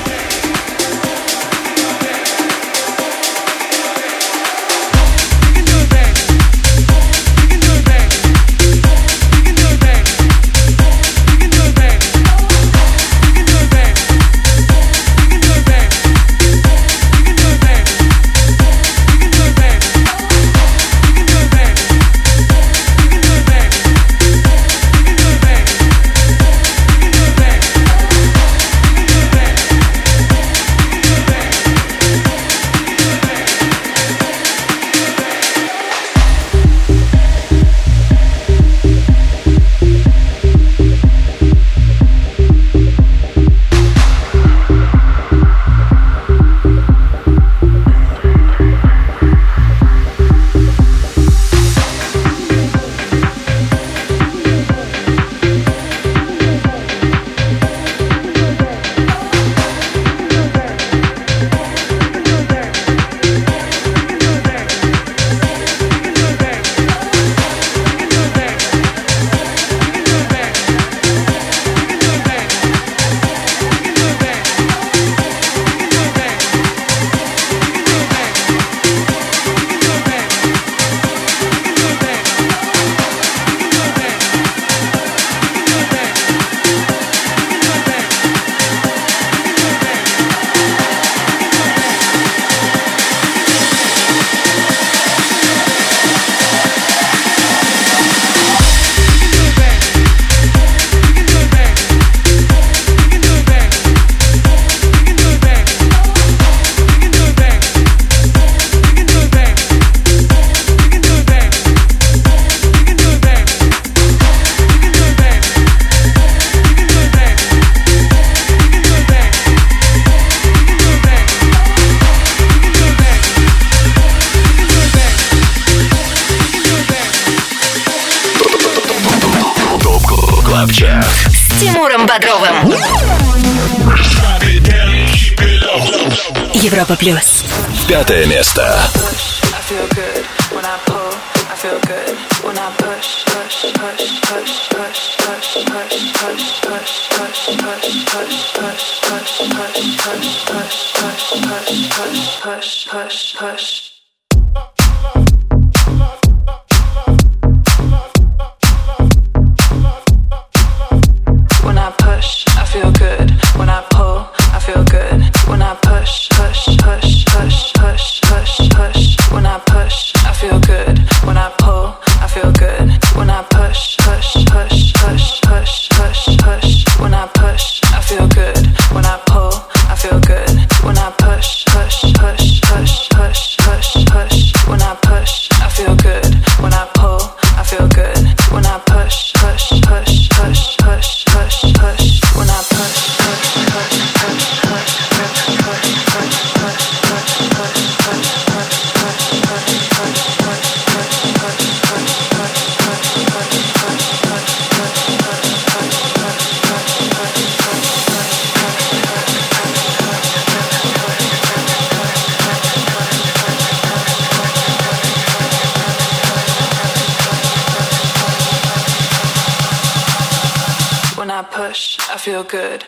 С Тимуром Бодровым. Европа Плюс. 5 место. When I push, I feel good. When I pull, I feel good. When I push, hush, hush, hush, hush, hush, hush. When I push, I feel good. When I pull, I feel good. When I push, hush, hush, hush, hush, hush, hush. When I push, I feel good. When I pull, I feel good. When I push, hush, hush, hush, hush, hush, hush. When I push, I feel good. When I pull, I feel good. When I push, hush, hush, hush, hush, hush, hush. When I push, hush, hush, hush, hush, hush, hush, hush, hush, hush, hush, hush, hush, when I push, I feel good.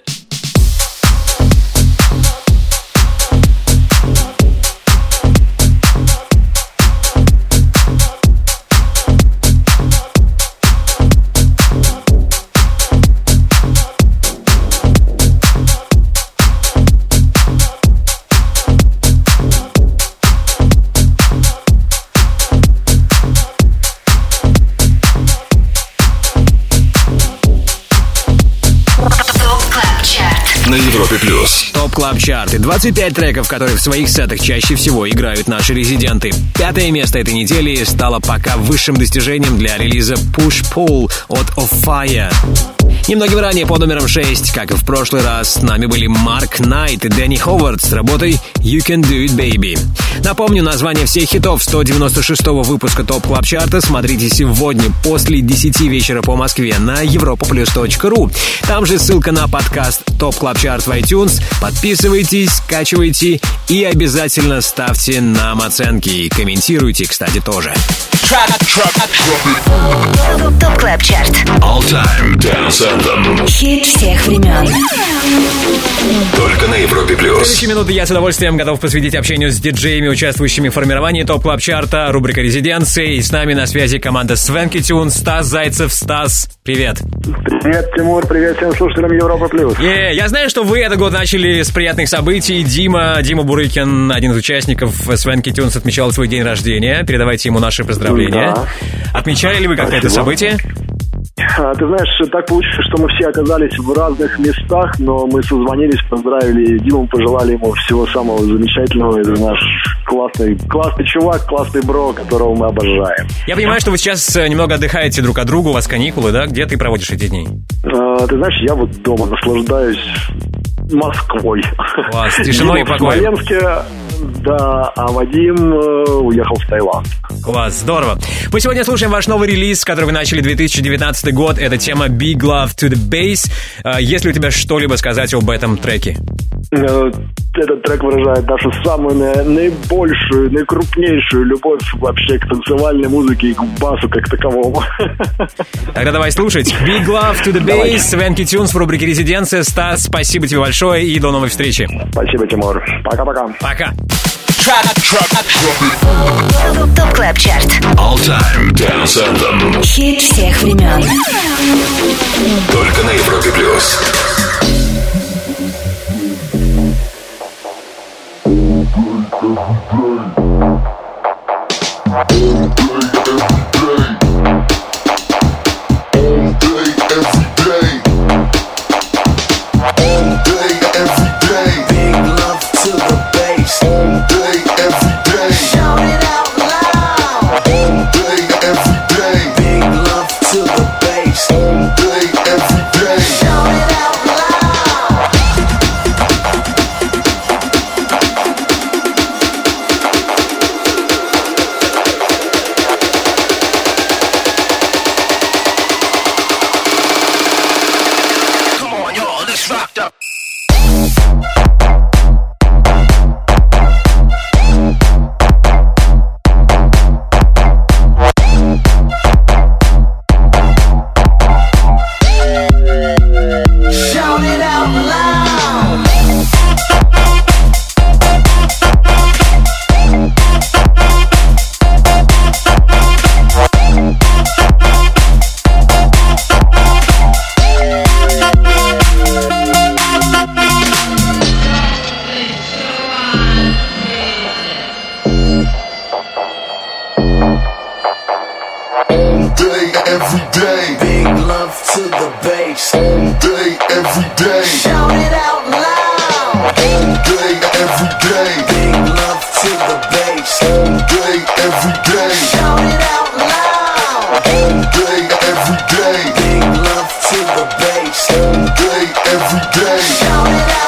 На Европе Плюс. Топ Клаб Чарт и 25 треков, которые в своих сетах чаще всего играют наши резиденты. 5 место этой недели стало пока высшим достижением для релиза Push Pull от Of Fire. Немногим ранее под номером 6, как и в прошлый раз, с нами были Марк Найт и Дэнни Ховард с работой You Can Do It Baby. Напомню, название всех хитов 196-го выпуска Топ Клаб Чарта смотрите сегодня после 10 вечера по Москве на europoplus.ru. Там же ссылка на подкаст Топ Клаб Чарт в iTunes. Подписывайтесь, скачивайте и обязательно ставьте нам оценки. И комментируйте, кстати, тоже. Топ Клаб Чарт. All Time Dance Anthem. Хит всех времен. Только на Европе Плюс. Следующие минуты я с удовольствием готов посвятить общению с диджеями, участвующими в формировании Топ Клаб Чарта, рубрика «Резиденции». И с нами на связи команда Свенки Тюн, Стас Зайцев. Стас, привет. Привет, Тимур, привет всем слушателям Европа Плюс. Я знаю, что вы этот год начали с приятных событий. Дима Бурыкин, один из участников Свенки Тюнс, отмечал свой день рождения. Передавайте ему наши поздравления. Да. Отмечали ли вы как-то это событие? Ты знаешь, так получилось, что мы все оказались в разных местах, но мы созвонились, поздравили Диму, пожелали ему всего самого замечательного. Это наш классный чувак, классный бро, которого мы обожаем. Я понимаю, что вы сейчас немного отдыхаете друг от друга, у вас каникулы, да? Где ты проводишь эти дни? Ты знаешь, я вот дома наслаждаюсь Москвой. Класс, тишиной и покоем. В Смоленске, да, а Вадим уехал в Таиланд. Класс, здорово. Мы сегодня слушаем ваш новый релиз, который вы начали 2019 год. Это тема Big Love to the Bass. Есть ли у тебя что-либо сказать об этом треке? Этот трек выражает нашу самую наибольшую, наикрупнейшую любовь вообще к танцевальной музыке и к басу как таковому. Тогда давай слушать. Big Love to the Bass, Свенки Тюнс в рубрике «Резиденция». Стас, спасибо тебе большое и до новой встречи. Спасибо, Тимур. Пока-пока. Пока. Топ Клаб Чарт. All Time Dance Anthem. Хит всех времен. Только на Европе Плюс. every day. Big love to the bass. All day, every day. Shout it out loud. All day, every day. Big love to the bass. All day, every day. Shout it out loud. All day, every day. Big love to the bass. All day, every day. Shout it out loud.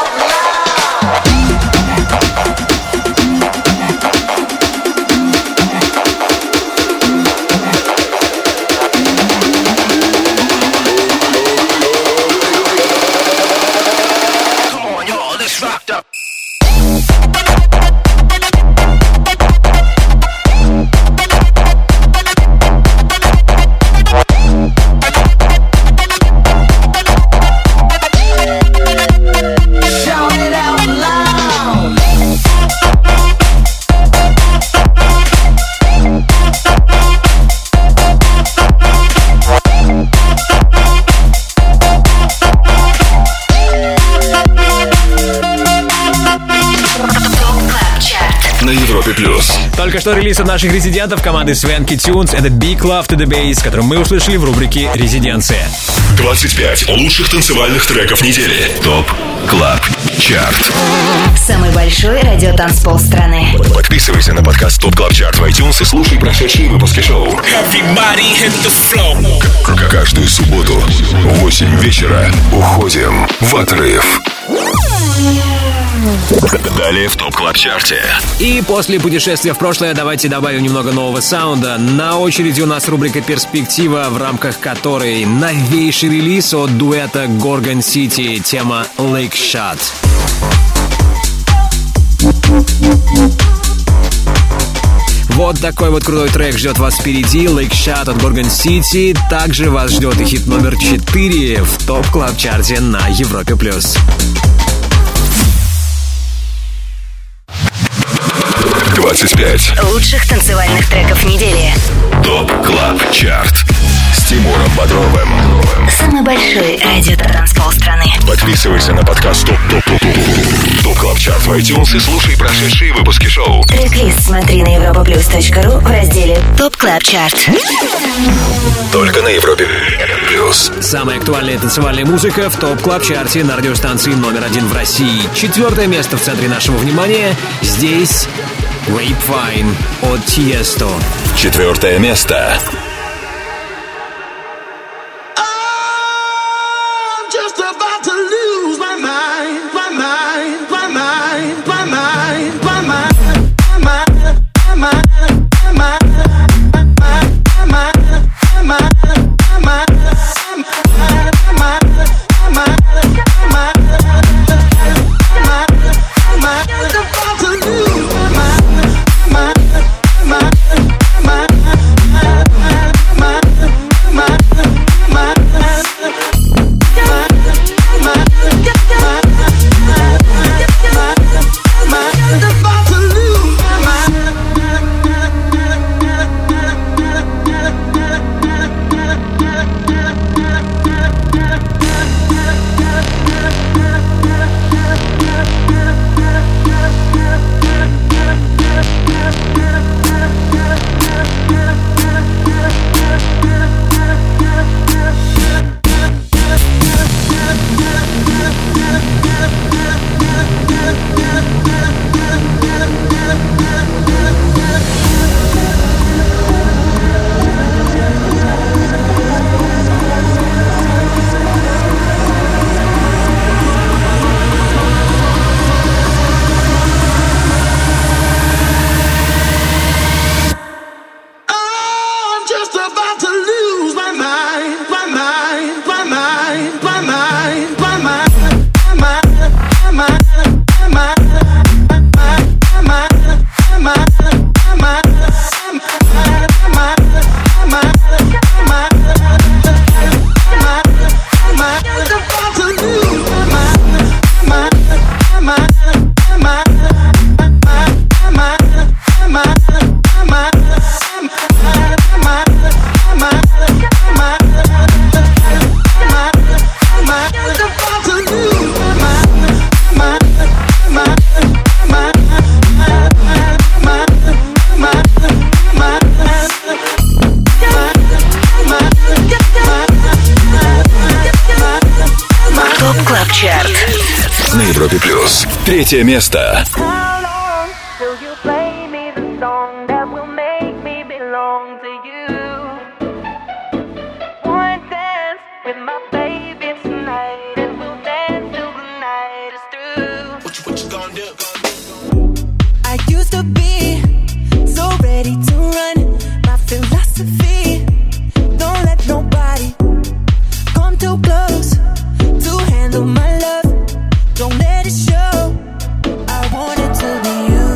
Только что релиз от наших резидентов команды Swanky Tunes. Это Big Love to the Bass, который мы услышали в рубрике «Резиденция». 25 лучших танцевальных треков недели. ТОП Клаб Чарт. Самый большой радиотанцпол страны. Подписывайся на подкаст ТОП Клаб Чарт в iTunes и слушай прошедшие выпуски шоу. Каждую субботу в 8 вечера уходим в отрыв. Далее в ТОП Клаб Чарте. И после путешествия в прошлое давайте добавим немного нового саунда. На очереди у нас рубрика «Перспектива», в рамках которой новейший релиз от дуэта Gorgon City, тема Lake Shot. Вот такой вот крутой трек ждет вас впереди. Lake Shot от Gorgon City. Также вас ждет и хит номер 4 в ТОП Клаб Чарте на Европе+. 25 лучших танцевальных треков недели. ТОП Клаб Чарт с Тимуром Бодровым. Самый большой радиотанцпол страны. Подписывайся на подкаст ТОП Клаб Чарт в iTunes и слушай прошедшие выпуски шоу. Трек-лист смотри на europaplus.ru в разделе ТОП Клаб Чарт. Только на Европе Плюс. Самая актуальная танцевальная музыка в ТОП Клаб Чарте на радиостанции номер 1 в России. 4 место в центре нашего внимания. Здесь Grapevine от Tiesto. 4 место. My 3 место. How long till you play me the song that will make me belong to you? One dance with my baby tonight, and we'll dance till the night is through. What you gonna do? I used to be so ready to run. My philosophy, don't let nobody come too close to handle my love. Don't let it show. I want it to be you.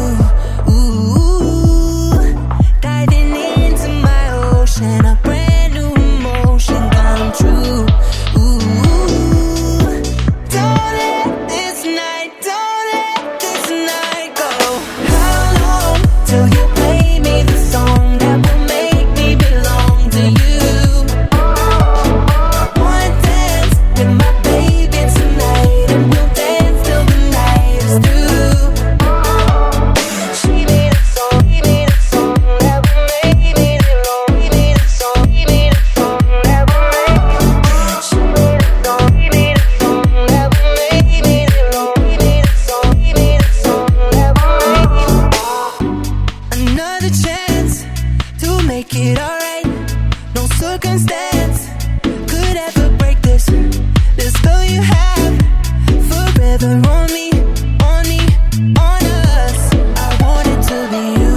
Ooh, diving into my ocean, a brand new emotion come true. Ooh, don't let this night go. How long till you play me the song that will make me belong to you? One dance with my baby tonight, and we'll dance till the night is through. She made a song, he made a song that will make me belong. He made a song, he made a song that will make me. She made a song, he made a song that will make me belong. He made a song, he made a song that will make me. Another chance to make it alright. No circumstance could ever break this. This spell you have forever on me, on me, on us. I want it to be you.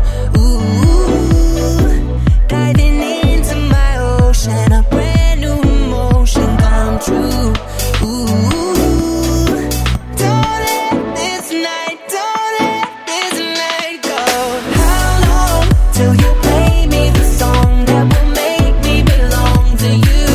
Ooh, diving into my ocean, a brand new emotion come true. Ooh, don't let this night go. How long till you play me the song that will make me belong to you?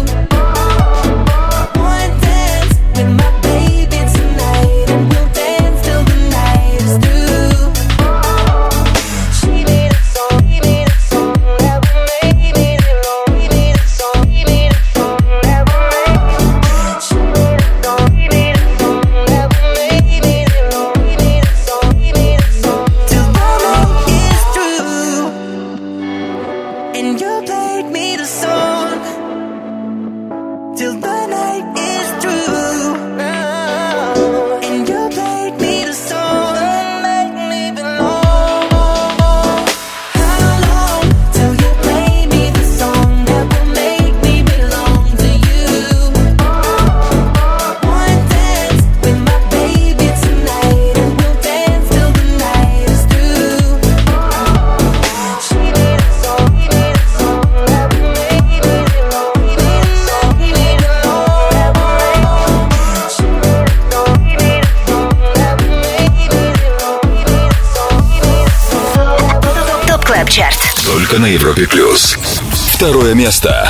One dance with my baby tonight, and we'll dance till the night is through. She made a song, he made a song that will make me belong. He made a song, he made a song that will make me. She made a song, he made a song that will make me belong. He made a song, he made a song till the night is through. And you played me the song till the night is through. And you played me the song that make me belong. How long till you play me the song that will make me belong to you? One dance with my baby tonight, and we'll dance till the night is through. She made a song, he made a song that will make me belong. He made a song, he made a song that will make me. She made a song, he made a song that will make me belong. He made a song, he made a song. ТОП КЛАБ ЧАРТ. Только на Европе плюс. 2 место.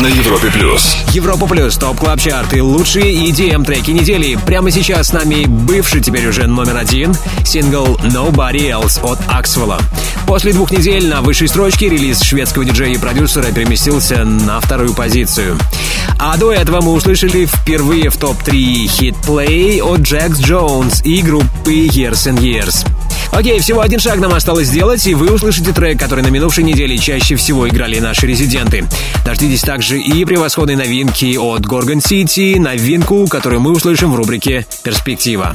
Европе плюс. Европа плюс, топ клаб чарт и лучшие EDM треки недели. Прямо сейчас с нами бывший, теперь уже номер 1, сингл Nobody Else от Axwell. После 2 недель на высшей строчке релиз шведского диджея и продюсера переместился на 2-ю позицию. А до этого мы услышали впервые в топ-3 хит Play от Jax Jones и группы Years and Years. Окей, всего 1 шаг нам осталось сделать, и вы услышите трек, который на минувшей неделе чаще всего играли наши резиденты. Дождитесь также и превосходной новинки от Gorgon City, новинку, которую мы услышим в рубрике «Перспектива».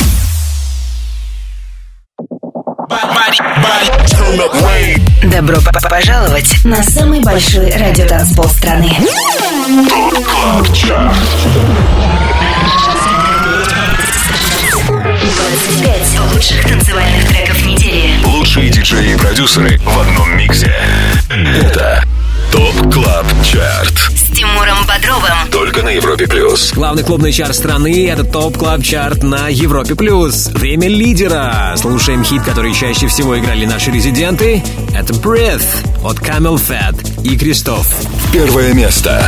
Добро пожаловать на самый большой радиотанцпол страны. ТОП КЛАБ ЧАРТ. 25 лучших танцевальных треков недели. Лучшие диджеи и продюсеры в одном миксе. Это ТОП КЛАБ ЧАРТ. С Тимуром Бодровым. Только на Европе плюс. Главный клубный чарт страны — это ТОП КЛАБ ЧАРТ на Европе плюс. Время лидера. Слушаем хит, который чаще всего играли наши резиденты. Это Breath от Camel Fat и Кристоф. Первое место.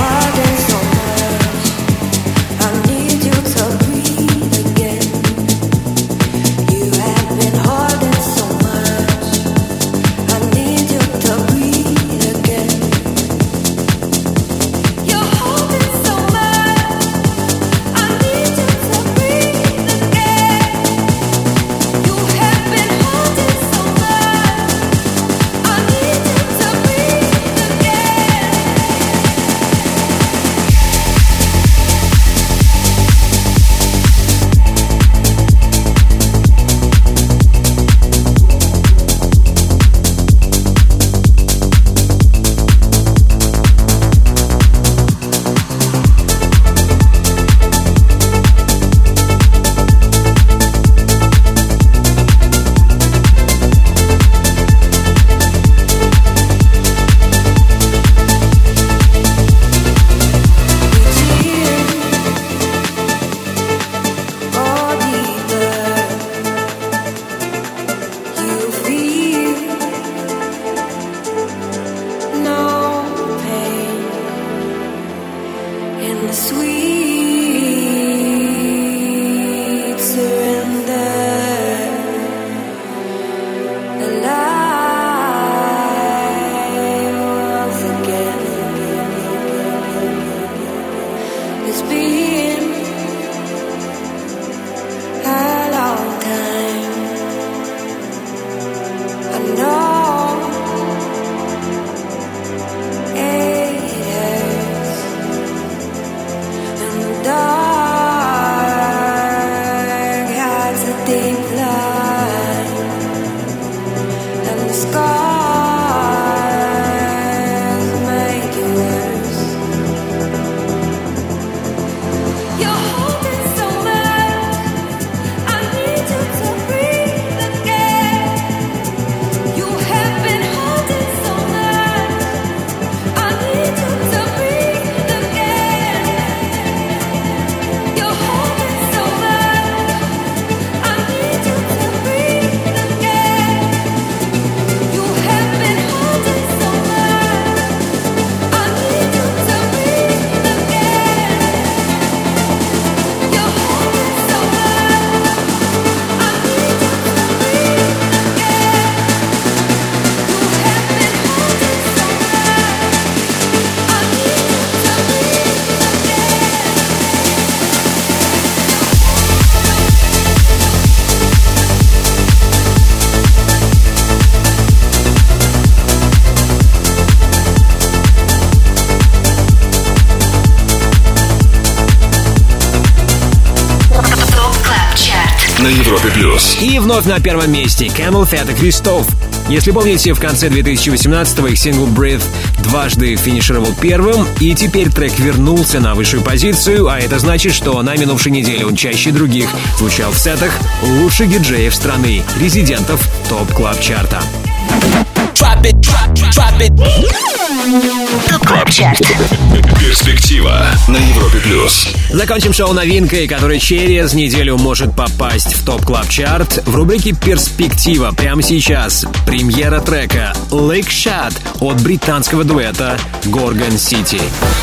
На Европе плюс. И вновь на первом месте Camel Fat и Кристоф. Если помните, в конце 2018-го их сингл Breath дважды финишировал первым, и теперь трек вернулся на высшую позицию, а это значит, что на минувшей неделе он чаще других звучал в сетах лучших диджеев страны, резидентов ТОП Клаб Чарта. Drop it, drop it. ТОП КЛАБ ЧАРТ. Перспектива на Европе плюс. Закончим шоу новинкой, которая через неделю может попасть в ТОП КЛАБ ЧАРТ. В рубрике «Перспектива» прямо сейчас премьера трека «Lake Shot» от британского дуэта Gorgon City.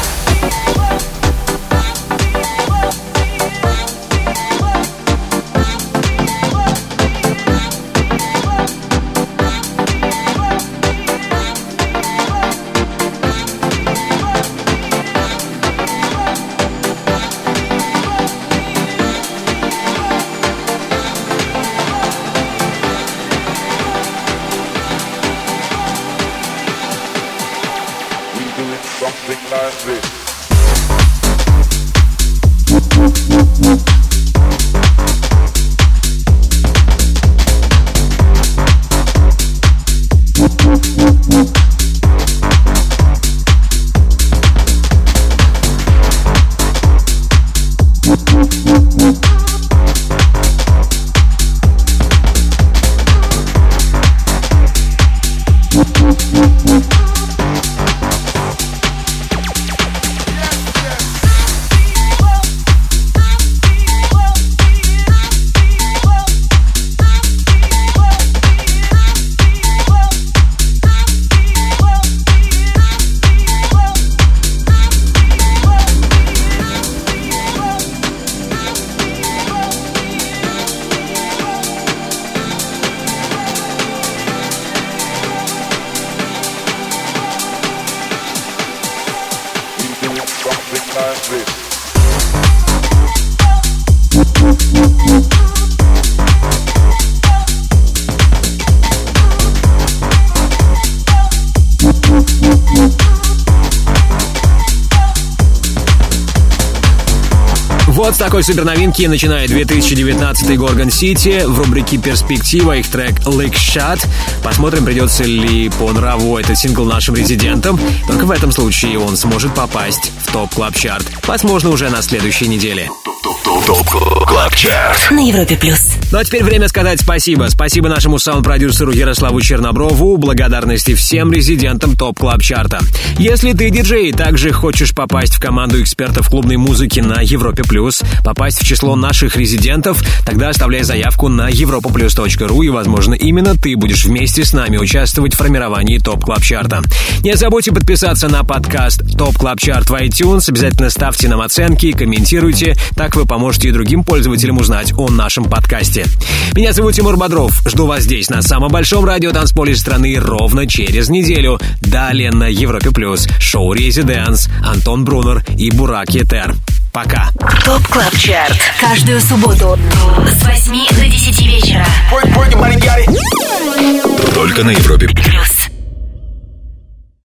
Вот с такой суперновинки начинает 2019 Gorgon City. В рубрике «Перспектива» их трек «Lake Shot». Посмотрим, придется ли по нраву этот сингл нашим резидентам. Только в этом случае он сможет попасть в ТОП КЛАБ ЧАРТ. Возможно, уже на следующей неделе. ТОП КЛАБ ЧАРТ на Европе плюс. Ну а теперь время сказать спасибо. Спасибо нашему саунд-продюсеру Ярославу Черноброву. Благодарности всем резидентам ТОП КЛАБ ЧАРТа. Если ты диджей и также хочешь попасть в команду экспертов клубной музыки на Европе плюс, попасть в число наших резидентов, тогда оставляй заявку на europaplus.ru, и, возможно, именно ты будешь вместе с нами участвовать в формировании ТОП КЛАБ ЧАРТа. Не забудьте подписаться на подкаст ТОП КЛАБ ЧАРТ в iTunes. Обязательно ставьте нам оценки, комментируйте. Так вы поможете и другим пользователям узнать о нашем подкасте. Меня зовут Тимур Бодров. Жду вас здесь, на самом большом радиотанцполе страны, ровно через неделю. Далее на Европе плюс шоу «Резиденс», Антон Брунер и Бурак Етер. Пока. ТОП КЛАБ ЧАРТ. Каждую субботу с 8 до 10 вечера. Только на Европе плюс.